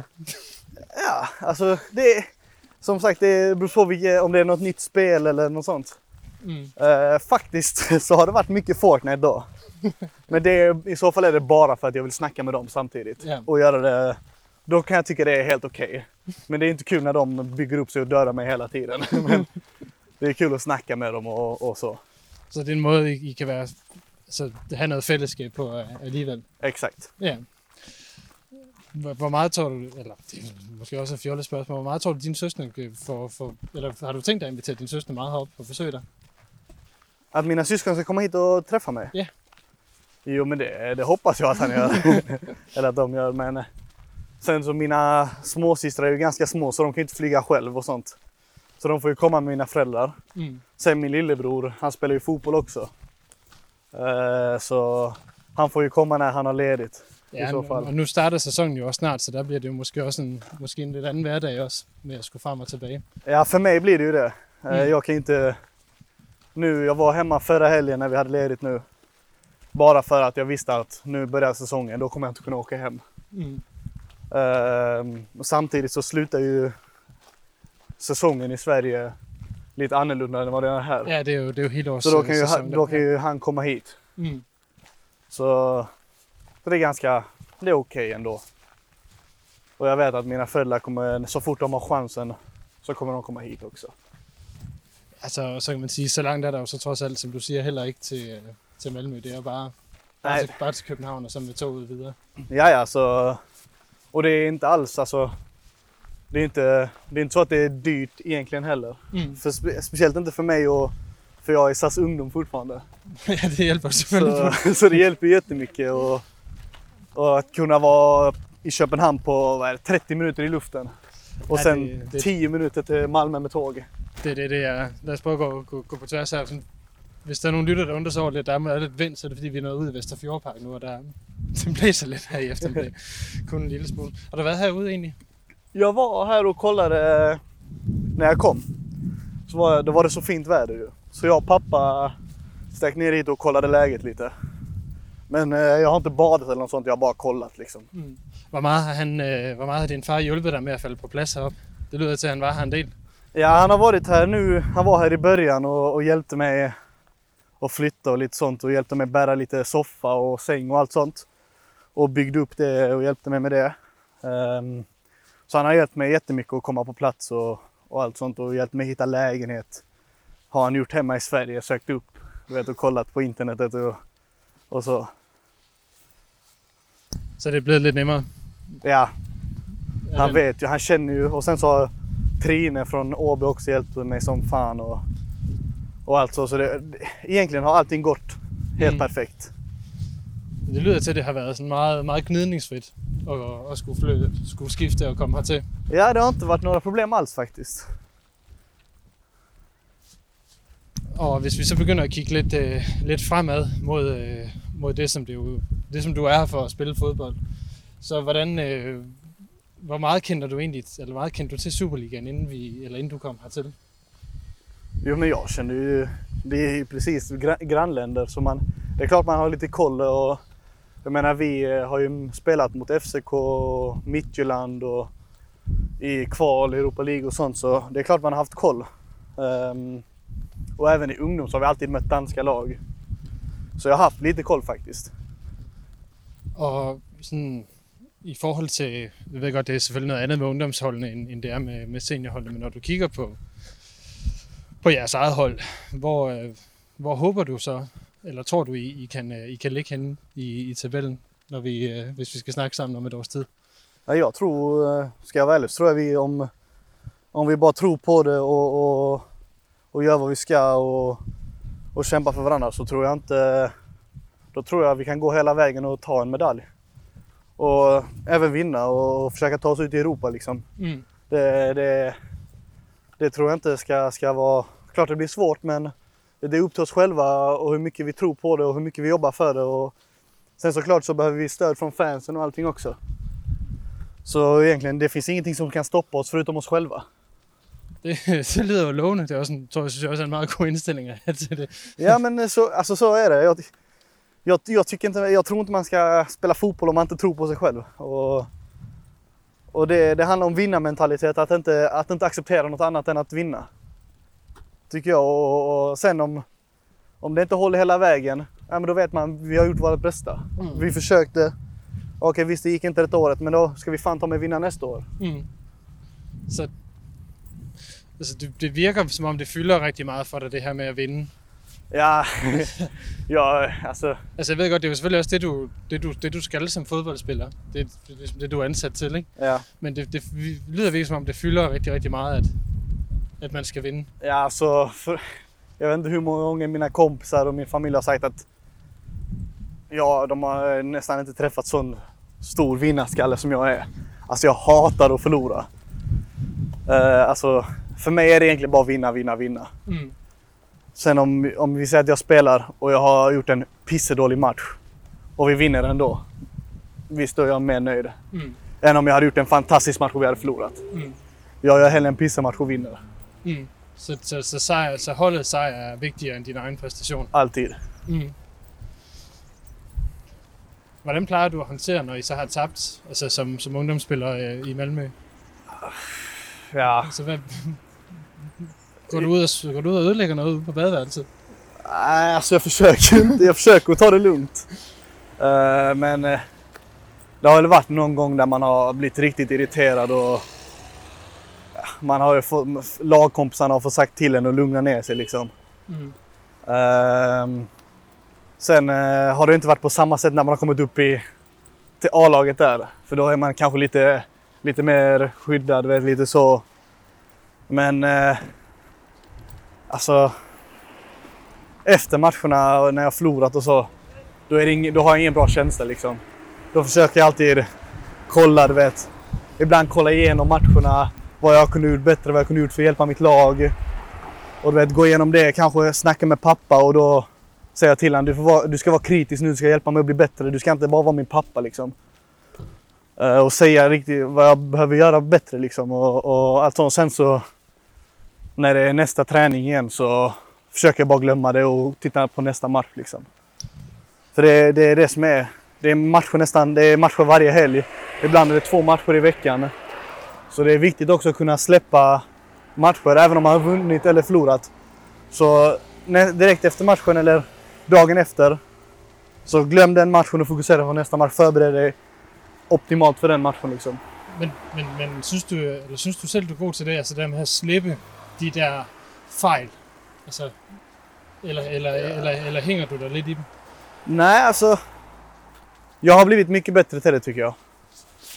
S4: Ja, alltså det är, som sagt, det beror på vilket, om det är något nytt spel eller något sånt.
S3: Mm.
S4: Eh, faktiskt så har det varit mycket Fortnite då. Men det är, i så fall är det bara för att jag vill snacka med dem samtidigt.
S3: Ja.
S4: Och göra det, då kan jag tycka det är helt okej. Men det är inte kul när de bygger upp sig och dödar mig hela tiden. Men det är kul att snacka med dem och, och så.
S3: Så det er en måde, I, I kan være, altså, have noget fællesskab på øh, alligevel.
S4: Exakt.
S3: Ja. Hvor hvor meget tror du, eller det er måske også et fjollet spørgsmål, hvor meget tror du, din søster får, for, eller har du tænkt dig at invitere din søster meget herop og besøge dig?
S4: Att mina syskon ska komma hit och träffa mig?
S3: Ja.
S4: Jo, men det, det hoppas jag att han gör. Eller att de gör. Men sen så mina småsystrar är ju ganska små så de kan inte flyga själv och sånt. Så de får ju komma med mina föräldrar.
S3: Mm.
S4: Sen min lillebror, han spelar ju fotboll också. Eh, så han får ju komma när han har ledigt.
S3: Ja,
S4: I så
S3: nu-
S4: fall.
S3: og nu starter sæsonen jo også snart, så der bliver det jo måske også en, måske en lidt anden hverdag også, med at skulle frem og tilbage.
S4: Ja, för mig blir det ju det. Eh,
S3: Mm.
S4: Jag kan inte... Nu, jag var hemma förra helgen när vi hade ledigt nu. Bara för att jag visste att nu börjar säsongen, då kommer jag inte kunna åka hem.
S3: Mm.
S4: Ehm, och samtidigt så slutar ju säsongen i Sverige lite annorlunda än vad det är här.
S3: Ja, det er jo, det er jo hele års
S4: så då kan, ju,
S3: sæson.
S4: han- då kan ju han komma hit.
S3: Mm.
S4: Så, så det är ganska, det är okej ändå. Och jag vet att mina föräldrar kommer, så fort de har chansen, så kommer de komma hit också.
S3: Altså, så kan man sige, så langt er der jo så trods alt, som du siger, heller ikke til, øh, til Malmø. Det er jo bare, bare,
S4: Nej.
S3: til, bare til København og så med toget videre.
S4: Ja, ja, så, och det är inte alls, alltså, det är inte, det är inte så att det är dyrt egentligen heller.
S3: Mm.
S4: För spe, speciellt inte för mig, och för jag är S A S ungdom fortfarande.
S3: Ja, det hjælper selvfølgelig.
S4: Så, så det hjälper jättemycket, och, och att kunna vara i Köpenhamn på vad är det, trettio minuter i luften. Och
S3: Ja,
S4: sen
S3: det- det-
S4: tio minuter till Malmö med tåg.
S3: Det er det, det er. Lad os prøve at gå, gå, gå på tværs her. Sådan, hvis der er nogle lytter, der undrer sig over lidt, der er lidt vind, så er det fordi, vi er nået ud i Vesterfjordpark nu, og der det blæser lidt her i eftermiddag. Kun en lille smule. Har du været herude egentlig?
S4: Jag var här och kollade när jag kom. Så var, då var det så fint väder ju. Så jag och pappa stack ner hit och kollade läget lite. Men eh, jag har inte badat eller något sånt, jag har bara kollat liksom.
S3: Mm. Hvor meget har, han, øh, hvor meget har din far hjulpet dig med at falde på plads heroppe? Det lyder til, at han var her en del.
S4: Ja, han har varit här nu. Han var här i början och, och hjälpte mig att flytta och lite sånt. Och hjälpte mig bära lite soffa och säng och allt sånt. Och byggde upp det och hjälpte mig med det. Um, så han har hjälpt mig jättemycket att komma på plats och, och allt sånt. Och hjälpt mig hitta lägenhet. Har han gjort hemma i Sverige, sökt upp, du vet, och kollat på internetet och, och så.
S3: Så det er blevet lidt nemmere.
S4: Ja,
S3: Er
S4: Han vet ju, han känner ju. Och sen så har Trine från Åby också hjälpt mig som fan och, och allt så. Så det, egentligen har allting gått helt mm. perfekt.
S3: Det lyder til, at det har været sådan meget, meget gnidningsfrit at, at skulle, flytte, skulle skifte og komme hertil.
S4: Ja, det har inte varit några problem alls faktiskt.
S3: Og hvis vi så begynder at kigge lidt, øh, lidt fremad mod, øh, mod det, som det, jo, det, som du er her for at spille fodbold, så hvordan, øh, hvor meget kender du egentlig, eller meget kendte du til Superligaen, inden, vi, eller inden du kom hertil?
S4: Jo, men jag känner ju, det är ju precis grannländer, så man, det är klart man har lite koll. Och jag menar, vi har ju spelat mot F C K, Midtjylland och i kval, Europa League och sånt, så det är klart man har haft koll. Um, och även i ungdom så har vi alltid mött danska lag. Så jag har haft lite koll faktiskt.
S3: Og sådan, i forhold til, jeg ved godt, det er selvfølgelig noget andet med ungdomsholdene, end, end det er med, med seniorholdene, men når du kigger på, på jeres eget hold, hvor, øh, hvor håber du så, eller tror du, I, I, kan, I kan ligge henne i, i tabellen, når vi, øh, hvis vi skal snakke sammen om et års tid?
S4: Ja, jag tror, ska jag vara ärlig, så tror jag vi om, om vi bara tror på det och, och, och gör vad vi ska och, och kämpar för varandra, så tror jag inte, då tror jag vi kan gå hela vägen och ta en medalj. Och även vinna och försöka ta oss ut i Europa liksom. Mm. Det, det, det tror jag inte ska, ska vara, klart det blir svårt, men det är upp till oss själva och hur mycket vi tror på det och hur mycket vi jobbar för det. Och sen såklart så behöver vi stöd från fansen och allting också. Så egentligen, det finns ingenting som kan stoppa oss förutom oss själva.
S3: Det, det lyder jo lovende. Det er også en, tror jeg, synes jeg også er en meget god indstilling til det.
S4: Ja, men så, alltså, så är det. Jag, jag, jag, tycker inte, jag tror inte man ska spela fotboll om man inte tror på sig själv. Och, och det, det handlar om vinnarmentalitet, att inte, att inte acceptera något annat än att vinna. Tycker jag. Och, och sen om, om det inte håller hela vägen, ja, men då vet man vi har gjort vårt bästa. Mm. Vi försökte. Okej, visst det gick inte ett året, men då ska vi fan ta med vinna nästa år. Mm.
S3: Så altså, det, det virker som om det fylder rigtig meget for dig, det her med at vinde.
S4: Ja, ja altså...
S3: Altså jeg ved godt, det er jo selvfølgelig også det du, det, du, det, du skal som fodboldspiller. Det, det, det du er ansat til, ikke?
S4: Ja.
S3: Men det, det lyder virkelig som om det fylder rigtig, rigtig meget, at, at man ska vinna.
S4: Ja, alltså... För, jag vet inte hur många gånger mina kompisar och min familj har sagt att ja, de har nästan inte träffat sån stor vinnarskalle som jag är. Alltså jag hatar att förlora. Uh, alltså, för mig är det egentligen bara vinna, vinna, vinna. Mm. Sen om, om vi säger att jag spelar och jag har gjort en pissedålig match och vi vinner ändå, visst då är jag mer nöjd. Mm. Än om jag hade gjort en fantastisk match och vi hade förlorat. Mm. Jag gör hellre en pissematch och vinner.
S3: Mm. Så, så, så, sejr, så holdet sejr er vigtigere end din egen præstation?
S4: Altid.
S3: Mm. Hvordan plejer du at håndtere, når I så har tabt, altså som, som ungdomsspiller øh, i Malmö?
S4: Ja.
S3: Altså, hvad, går, du ud og, går du ud og ødelægger noget ude på badeværelset?
S4: Nej, alltså jag försöker inte. Jag försöker att ta det lugnt. Uh, men uh, det har väl varit någon gång där man har blivit riktigt irriterad och uh, man har ju fått, lagkompisarna har fått sagt till en att lugna ner sig liksom. Mm. Uh, sen uh, har det inte varit på samma sätt när man har kommit upp i till A-laget där. För då är man kanske lite, lite mer skyddad, vet, lite så. Men uh, alltså efter matcherna och när jag förlorat och så, då, är det ing, då har jag ingen bra känsla liksom. Då försöker jag alltid kolla, du vet. Ibland kolla igenom matcherna, vad jag kunde gjort bättre, vad jag kunde gjort för att hjälpa mitt lag. Och du vet, gå igenom det, kanske snacka med pappa och då säger jag till honom, du, får vara, du ska vara kritisk nu, du ska hjälpa mig att bli bättre. Du ska inte bara vara min pappa liksom. Uh, och säga riktigt vad jag behöver göra bättre liksom. Och, och allt sånt. Sen så, när det är nästa träning igen så försöker jag bara glömma det och titta på nästa match liksom. För det, det är det som är, det är matcher nästan, det är matcher varje helg. Ibland är det två matcher i veckan. Så det är viktigt också att kunna släppa matcher, även om man har vunnit eller förlorat. Så direkt efter matchen eller dagen efter, så glöm den matchen och fokusera på nästa match. Förbered dig optimalt för den matchen liksom.
S3: Men, men, men synes, du, eller synes du selv, du er god til det, altså det med at slippe de der fejl? Altså, eller, eller, ja. eller, eller hänger du där lite i dem?
S4: Nej, alltså jag har blivit mycket bättre till det tycker jag.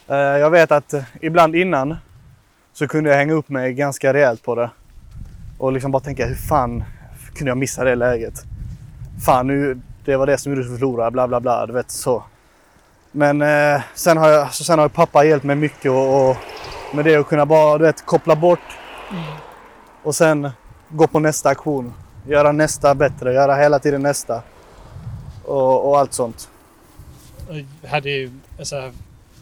S4: Uh, jag vet att uh, ibland innan så kunde jag hänga upp mig ganska rejält på det. Och liksom bara tänka, hur fan kunde jag missa det läget? Fan, nu, det var det som gjorde att förlora, bla bla bla, du vet så. Men uh, sen, har jag, så sen har pappa hjälpt mig mycket och, och med det att kunna bara, du vet, koppla bort. Mm. Och sen gå på nästa aktion. Göra nästa bättre, göra hela tiden næsta. Og, og alt sånt.
S3: Og har det, altså...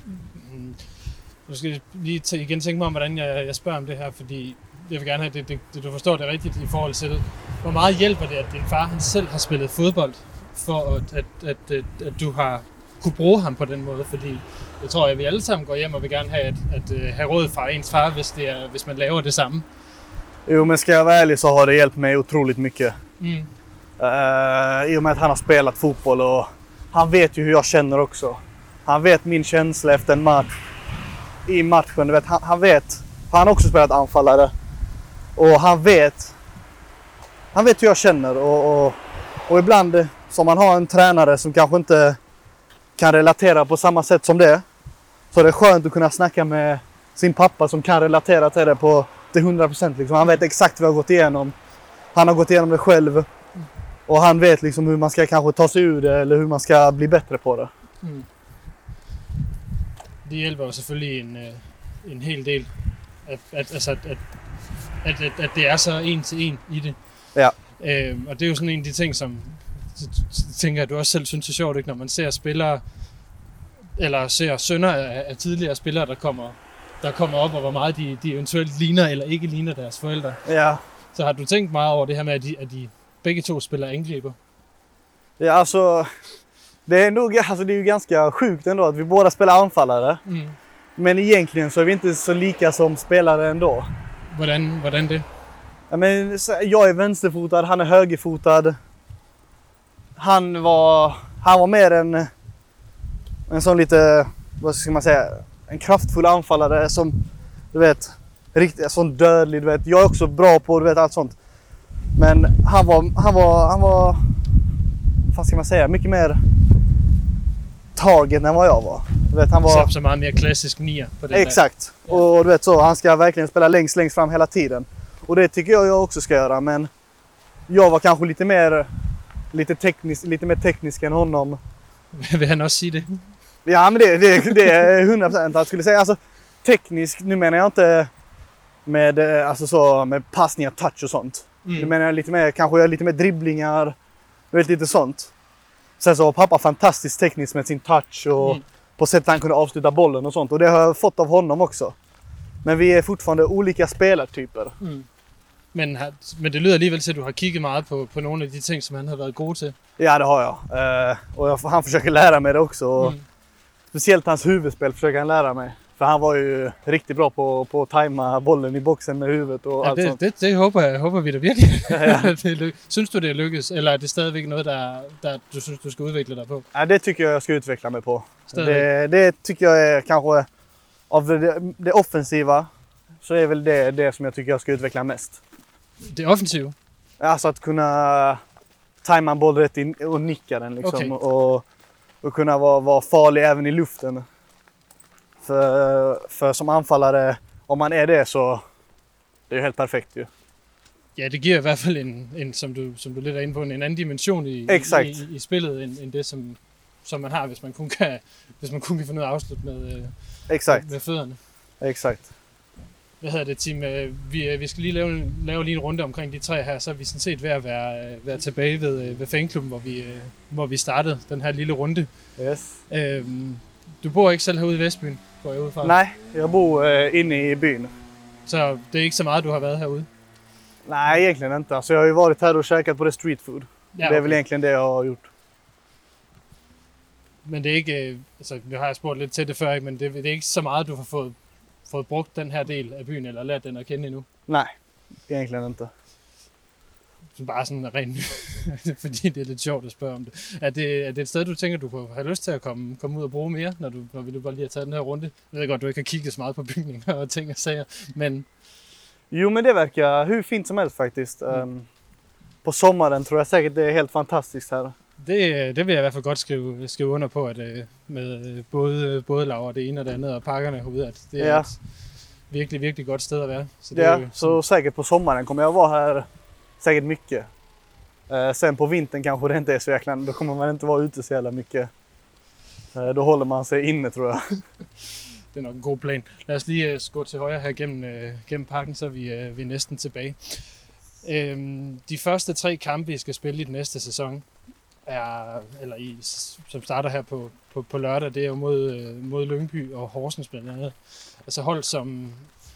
S3: Nu skal jeg lige t- igen tænke mig om, hvordan jeg, jeg spørger om det her, fordi jeg vil gerne have, det, det, det, du forstår det rigtigt i forhold til, hvor meget hjælper det, at din far han selv har spillet fodbold, for at, at, at, at, at du har kunne bruge ham på den måde, fordi jeg tror, at vi alle sammen går hjem og vil gerne have, at, at, at have råd fra ens far, hvis, det er, hvis man laver det samme.
S4: Jo, men ska jag vara ärlig så har det hjälpt mig otroligt mycket. Mm. Uh, I och med att han har spelat fotboll och han vet ju hur jag känner också. Han vet min känsla efter en match. I matchen, du vet, han, han vet. Han har också spelat anfallare. Och han vet. Han vet hur jag känner. Och, och, och ibland, som man har en tränare som kanske inte kan relatera på samma sätt som det. Så det är skönt att kunna snacka med sin pappa som kan relatera till det på till hundra procent. Liksom. Han vet exakt vad jag har gått igenom. Han har gått igenom det själv. Och han vet liksom hur man ska kanske ta sig ur det eller hur man ska bli bättre på det.
S3: Mm. Det hjælper jo selvfølgelig en, en hel del, at, at, altså at, at, at, at, at det er så en til en i det.
S4: Ja.
S3: Øhm, og det er jo sådan en af de ting, som tænker jeg, du også selv synes er sjovt, ikke? Når man ser spillere, eller ser sønner af, af tidligere spillere, der kommer, der kommer op, og hvor meget de, de eventuelt ligner eller ikke ligner deres forældre.
S4: Ja.
S3: Så har du tænkt meget over det her med, at de, at de begge to spelar angriper?
S4: Ja, alltså det är nog, alltså det är ju ganska sjukt ändå att vi båda spelar anfallare. Mm. Men egentligen så är vi inte så lika som spelare ändå.
S3: Hvordan, hvordan det?
S4: Ja, men jag är vänsterfotad, han är högerfotad. Han var han var mer en en sån lite, vad ska man säga, en kraftfull anfallare som du vet, riktigt sån dödlig, du vet. Jag är också bra på, du vet, allt sånt. Men han var, han var, han var, vad ska man säga, mycket mer tagen än vad jag var. Du vet, han var
S3: så mycket mer klassisk nia på det.
S4: Exakt. Där. Och du vet så, han ska verkligen spela längst, längst fram hela tiden. Och det tycker jag jag också ska göra, men jag var kanske lite mer, lite teknisk, lite mer teknisk än honom.
S3: Vill han också säga det?
S4: Ja, men det, det, det är hundra procent att skulle säga. Alltså, teknisk, nu menar jag inte med, alltså så, med passningar, touch och sånt. Mm. Nu menar jag lite mer, kanske lite mer dribblingar, vet, lite sånt. Sen så var pappa fantastiskt teknisk med sin touch och mm. på sättet han kunde avsluta bollen och sånt. Och det har jag fått av honom också. Men vi är fortfarande olika spelartyper. Mm.
S3: Men, men det lyder alligevel til, at du har kigget meget på, på nogle af de ting, som han har været god til.
S4: Ja, det har jag. Uh, och jag, han försöker lära mig det också. Mm. Speciellt hans huvudspel försöker han lära mig. För han var ju riktigt bra på, på att tajma bollen i boxen med huvudet och
S3: ja,
S4: allt
S3: det,
S4: sånt.
S3: Det, det håber, jeg, håber vi da virkelig.
S4: Ja, ja.
S3: det, synes du, det er lykkes? Eller er det stadigvæk noget, der, der du synes, du skal udvikle dig på?
S4: Ja, det tycker jag jag ska utveckla mig på. Det, det tycker jag är kanske, av det, det offensiva, så är väl det det som jag tycker jag ska utveckla mest.
S3: Det offensiva?
S4: Alltså att kunna tajma en boll rätt in och nicka den liksom. Okay. Och, och kunna vara, vara farlig även i luften. För, för som anfallare, om man är det så det är helt perfekt ju.
S3: Ja, det giver i hvert fald en, en som, du, som du lidt er inde på, en anden dimension i, i, i spillet, end, end det, som, som man har, hvis man kun kan, hvis man kun kan få noget afslut med,
S4: Exakt.
S3: med fødderne.
S4: Exakt.
S3: Hvad hedder det, Tim? Vi, vi skal lige lave, lave lige en runde omkring de tre her, så er vi sådan set ved at være, være tilbage ved, ved fanklubben, hvor vi, hvor vi startede den her lille runde.
S4: Yes.
S3: Øhm, du bor ikke selv herude i Vestbyen, går jeg ud fra?
S4: Nej, jeg bor øh, inde i byen.
S3: Så det er ikke så meget, du har været herude?
S4: Nej, egentligen inte. Alltså, jag har ju varit här och käkat på det street food. Ja, okay. Det är väl egentligen det jag har gjort.
S3: Men det er ikke, altså vi har spurgt lidt til det før, men det, det er ikke så meget, du har fået, fået brugt den her del af byen, eller lært den at kende endnu?
S4: Nej, egentligen inte.
S3: Så bare sådan rent, fordi det er lidt sjovt at spørge om det. Er det, er det et sted, du tænker, du kunne have lyst til at komme, komme ud og bruge mere, når, du, når vi nu bare lige har taget den her runde? Jeg ved godt, du ikke har kigget så meget på bygninger og ting og sager, men...
S4: Jo, men det verkar hur fint som helst faktiskt. Mm. Um, på sommaren tror jag säkert det är helt fantastiskt här.
S3: Det, det vil jeg i hvert fald godt skrive, skrive under på, at øh, med både, både Laura det ene og det andet og pakkerne herude, at det er ja. et virkelig, virkelig godt sted at være.
S4: Så det ja, är ju, så säkert på sommaren kommer jag vara här säkert mycket. Eh, sen på vintern kanske det inte är så jäkla, då kommer man inte vara ute så jävla mycket. Eh, då håller man sig inne, tror jag.
S3: Det er nok en god plan. Lad os lige uh, gå til højre her gennem, uh, gennem parken, så er vi, uh, vi er næsten tilbage. Øhm, de første tre kampe, vi skal spille i den næste sæson, er, eller i, som starter her på, på, på lørdag, det er jo mod, uh, mod Lyngby og Horsens blandt andet. Altså hold, som,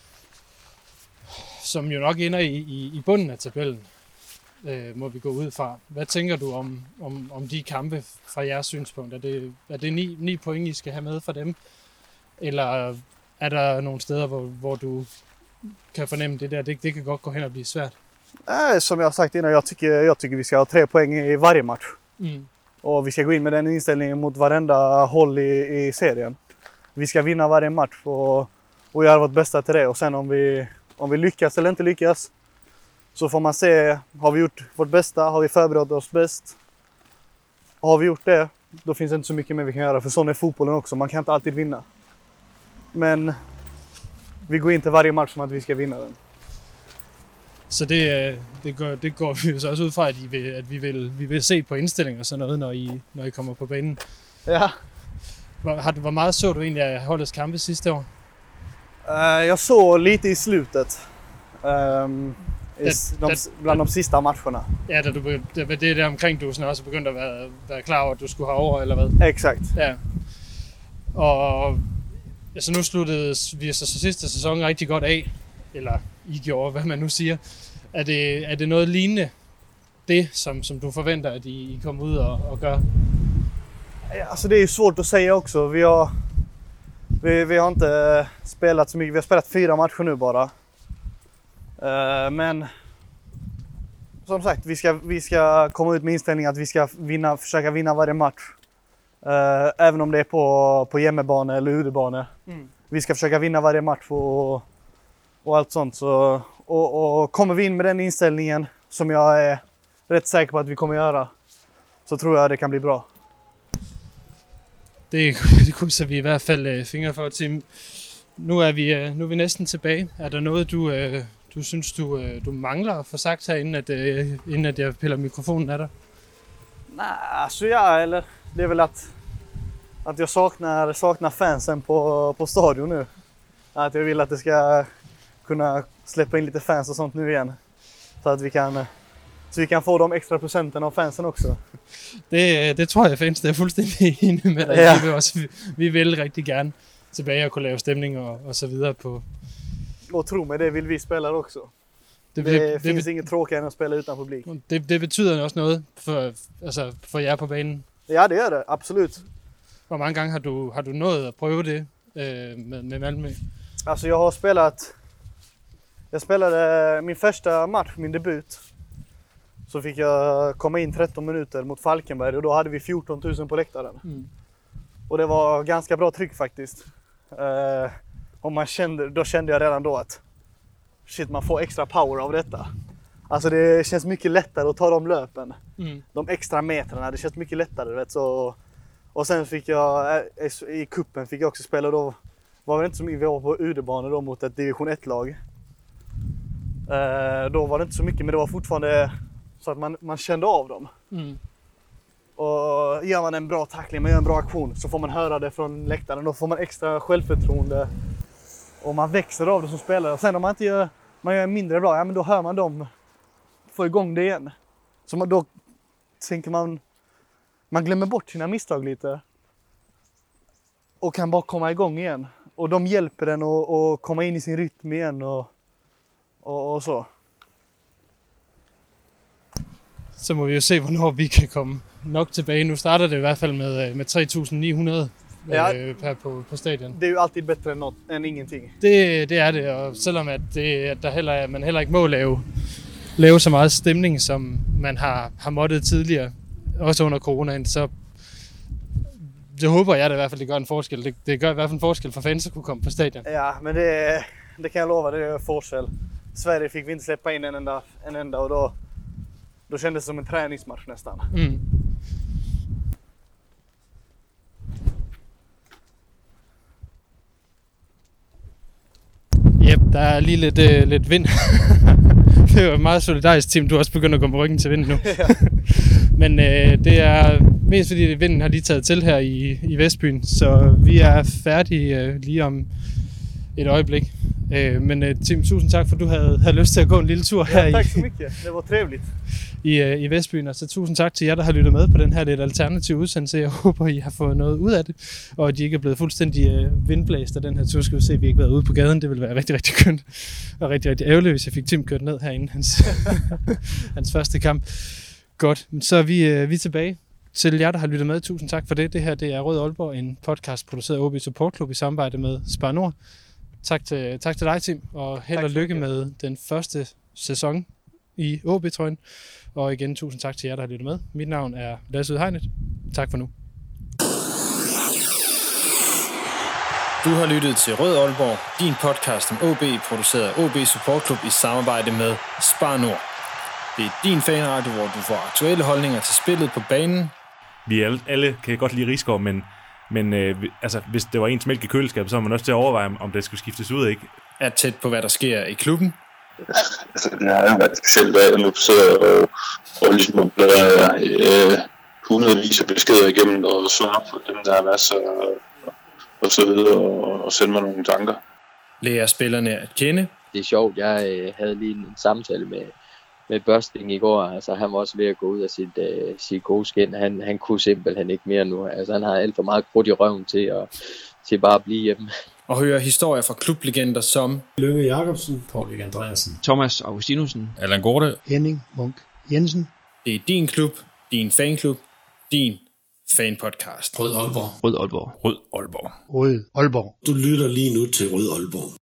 S3: som jo nok ender i, i, i bunden af tabellen, uh, må vi gå ud fra. Hvad tænker du om, om, om de kampe fra jeres synspunkt? Er det, er det ni, ni point, I skal have med for dem? Eller er der nogle steder, hvor, hvor du kan fornemme det der? Det, det kan godt gå hen og blive svært.
S4: Nej, som jag har sagt innan, jag tycker, jag tycker vi ska ha tre poäng i varje match. Mm. Och vi ska gå in med den inställningen mot varenda håll i, i serien. Vi ska vinna varje match och, och göra vårt bästa till det. Och sen om vi, om vi lyckas eller inte lyckas, så får man se, har vi gjort vårt bästa? Har vi förberett oss bäst? Har vi gjort det, då finns det inte så mycket mer vi kan göra. För sån är fotbollen också, man kan inte alltid vinna. Men vi går inte varje match som att vi ska vinna den.
S3: Så det, det, går, det går vi jo så også ud fra, at, I vil, at vi, vil, vi vil se på indstilling og sådan noget, når I, når I kommer på banen.
S4: Ja.
S3: Hvor, har, hvor meget så du egentlig af holdets kampe sidste år?
S4: Uh, jag såg lite i slutet. Um, i
S3: det,
S4: de,
S3: det,
S4: bland de sista matcherna.
S3: Ja, da du, det, det er der omkring, du sådan også begyndt at være, være klar over, at du skulle have over, eller hvad?
S4: Exakt.
S3: Ja. Og altså nu sluttede vi så, så sidste sæson rigtig godt af, eller I gjorde, hvad man nu siger. Er det, er det noget lignende, det som, som du forventer, at I, I kommer ud og, og gør?
S4: Ja, alltså det är ju svårt att säga också. Vi har, vi, vi har inte spelat så mycket. Vi har spelat fyra matcher nu bara. Uh, men som sagt, vi ska, vi ska komma ut med inställningen att vi ska vinna, försöka vinna varje match. Uh, även om det är på, på hemmabane eller udebane. Mm. Vi ska försöka vinna varje match och, och allt sånt. Så, och, och kommer vi in med den inställningen, som jag är rätt säker på att vi kommer göra, så tror jeg, det kan blive bra.
S3: Det, det krydser vi i hvert fald fingre for, Tim. Nu er vi, nu er vi næsten tilbage. Er der noget, du, du synes, du, du mangler at få sagt her, inden at, inden at jeg piller mikrofonen af dig?
S4: Nej, alltså ja, eller det är väl att, att jag saknar, saknar fansen på, på stadion nu. Att jag vill att det ska kunna släppa in lite fans och sånt nu igen. Så att vi kan, så vi kan få de extra procenten av fansen också.
S3: Det, det tror jeg, fans det er fuldstændig enig med dig. Ja. Vi, vil også, vi, vi vil rigtig gerne tilbage og kunne lave stemning og, og så videre på.
S4: Och tro mig, det vill vi spelare också. Det,
S3: det,
S4: det
S3: det
S4: finns
S3: det,
S4: inget tråkigare än att spela utan publik.
S3: Det, det betyder også noget for, altså for jer på banen.
S4: Ja, det gör det. Absolut.
S3: Hvor mange gange har du, har du nået at prøve det øh, med, med Malmö?
S4: Alltså jag har spelat... Jag spelade min första match, min debut. Så fick jag komma in tretton minuter mot Falkenberg och då hade vi fjorton tusen på läktaren. Mm. Och det var ganska bra tryck faktiskt. Uh, och man kände, då kände jag redan då att shit, man får extra power av detta. Alltså det känns mycket lättare att ta de löpen. Mm. De extra metrarna, det känns mycket lättare. Vet, så, och sen fick jag, i kuppen fick jag också spela, då var det inte så mycket, vi var på udebane då mot ett division ett-lag. Uh, då var det inte så mycket, men det var fortfarande så att man, man kände av dem. Mm. Och gör man en bra tackling, man gör en bra aktion, så får man höra det från läktaren. Då får man extra självförtroende och man växer av det som spelare. Och sen om man inte gör, man gör mindre bra, ja, men då hör man dem få igång det igen. Så man, då tänker man, man glömmer bort sina misstag lite och kan bara komma igång igen. Och de hjälper den att, att komma in i sin rytm igen och, och, og så.
S3: Så må vi jo se, hvornår vi kan komme nok tilbage. Nu starter det i hvert fald med, med tre tusind ni hundrede ja, øh, per på, på stadion.
S4: Det er jo altid bedre end, noget, end ingenting.
S3: Det, det er det, og selvom at det, at der heller, at man heller ikke må lave, lave så meget stemning, som man har, har måttet tidligere, også under coronaen, så det håber jeg da i hvert fald, det gør en forskel. Det, det gør i hvert fald en forskel for fans at kunne komme på stadion.
S4: Ja, men det, det kan jag lova, det är forskel. Sverige fick vi inte släppa in en enda, en enda och då, då kändes det som en träningsmatch nästan. Mm.
S3: Der er lige lidt, øh, lidt vind. Det er jo et meget solidarisk team. Du er også begyndt at gå på ryggen til vinden nu. Men øh, det er mest fordi vinden har lige taget til her i, i Vestbyen. Så vi er færdige øh, lige om et øjeblik. Øh, men øh, Tim, tusind tak for, at du havde, havde lyst til at gå en lille tur her
S4: ja, tak
S3: i,
S4: så mycket. Det var trevligt.
S3: i, øh, i Vestbyen. Og så tusind tak til jer, der har lyttet med på den her lidt alternative udsendelse. Jeg håber, I har fået noget ud af det, og at I ikke er blevet fuldstændig øh, vindblæst af den her tur. Skal vi se, at vi ikke har været ude på gaden. Det ville være rigtig, rigtig kønt og rigtig, rigtig ærgerligt, hvis jeg fik Tim kørt ned herinde hans, hans første kamp. Godt, så er vi, øh, vi er tilbage. Til jer, der har lyttet med, tusind tak for det. Det her det er Rød Aalborg, en podcast produceret af O B Support Club i samarbejde med Spar Nord. Tak til, tak til dig, Tim, og held og lykke med den første sæson i O B-trøjen. Og igen, tusind tak til jer, der har lyttet med. Mit navn er Lasse Udhegnet. Tak for nu.
S2: Du har lyttet til Rød Aalborg, din podcast om O B, produceret af O B Support Club i samarbejde med Spar Nord. Det er din fanradio, hvor du får aktuelle holdninger til spillet på banen.
S5: Vi alle, alle kan godt lide Risgaard, men, men øh, altså, hvis det var ens mælk i køleskabet, så var man også til at overveje, om det skulle skiftes ud, ikke?
S2: Er tæt på, hvad der sker i klubben.
S6: Altså, det har jo været specielt, at jeg nu sidder og, og ligesom bladrer øh, hundredvis af beskeder igennem og svarer på dem, der er masser og, og så videre, og, og sende mig nogle tanker.
S2: Lærer spillerne at kende.
S7: Det er sjovt, jeg øh, havde lige en samtale med med Børsting i går. Altså, han var også ved at gå ud af sit, uh, sit gode skin. Han, han kunne simpelthen ikke mere nu. Altså, han har alt for meget krudt i røven til at, til bare at blive hjemme.
S2: Og høre historier fra klublegender som
S1: Lønge Jacobsen,
S8: Paul Andreasen,
S9: Thomas Augustinussen,
S8: Allan Gorte,
S10: Henning Munk Jensen.
S2: Det er din klub, din fanklub, din fanpodcast.
S8: Rød Aalborg.
S9: Rød Aalborg.
S8: Rød Aalborg.
S10: Rød Aalborg.
S1: Du lytter lige nu til Rød Aalborg.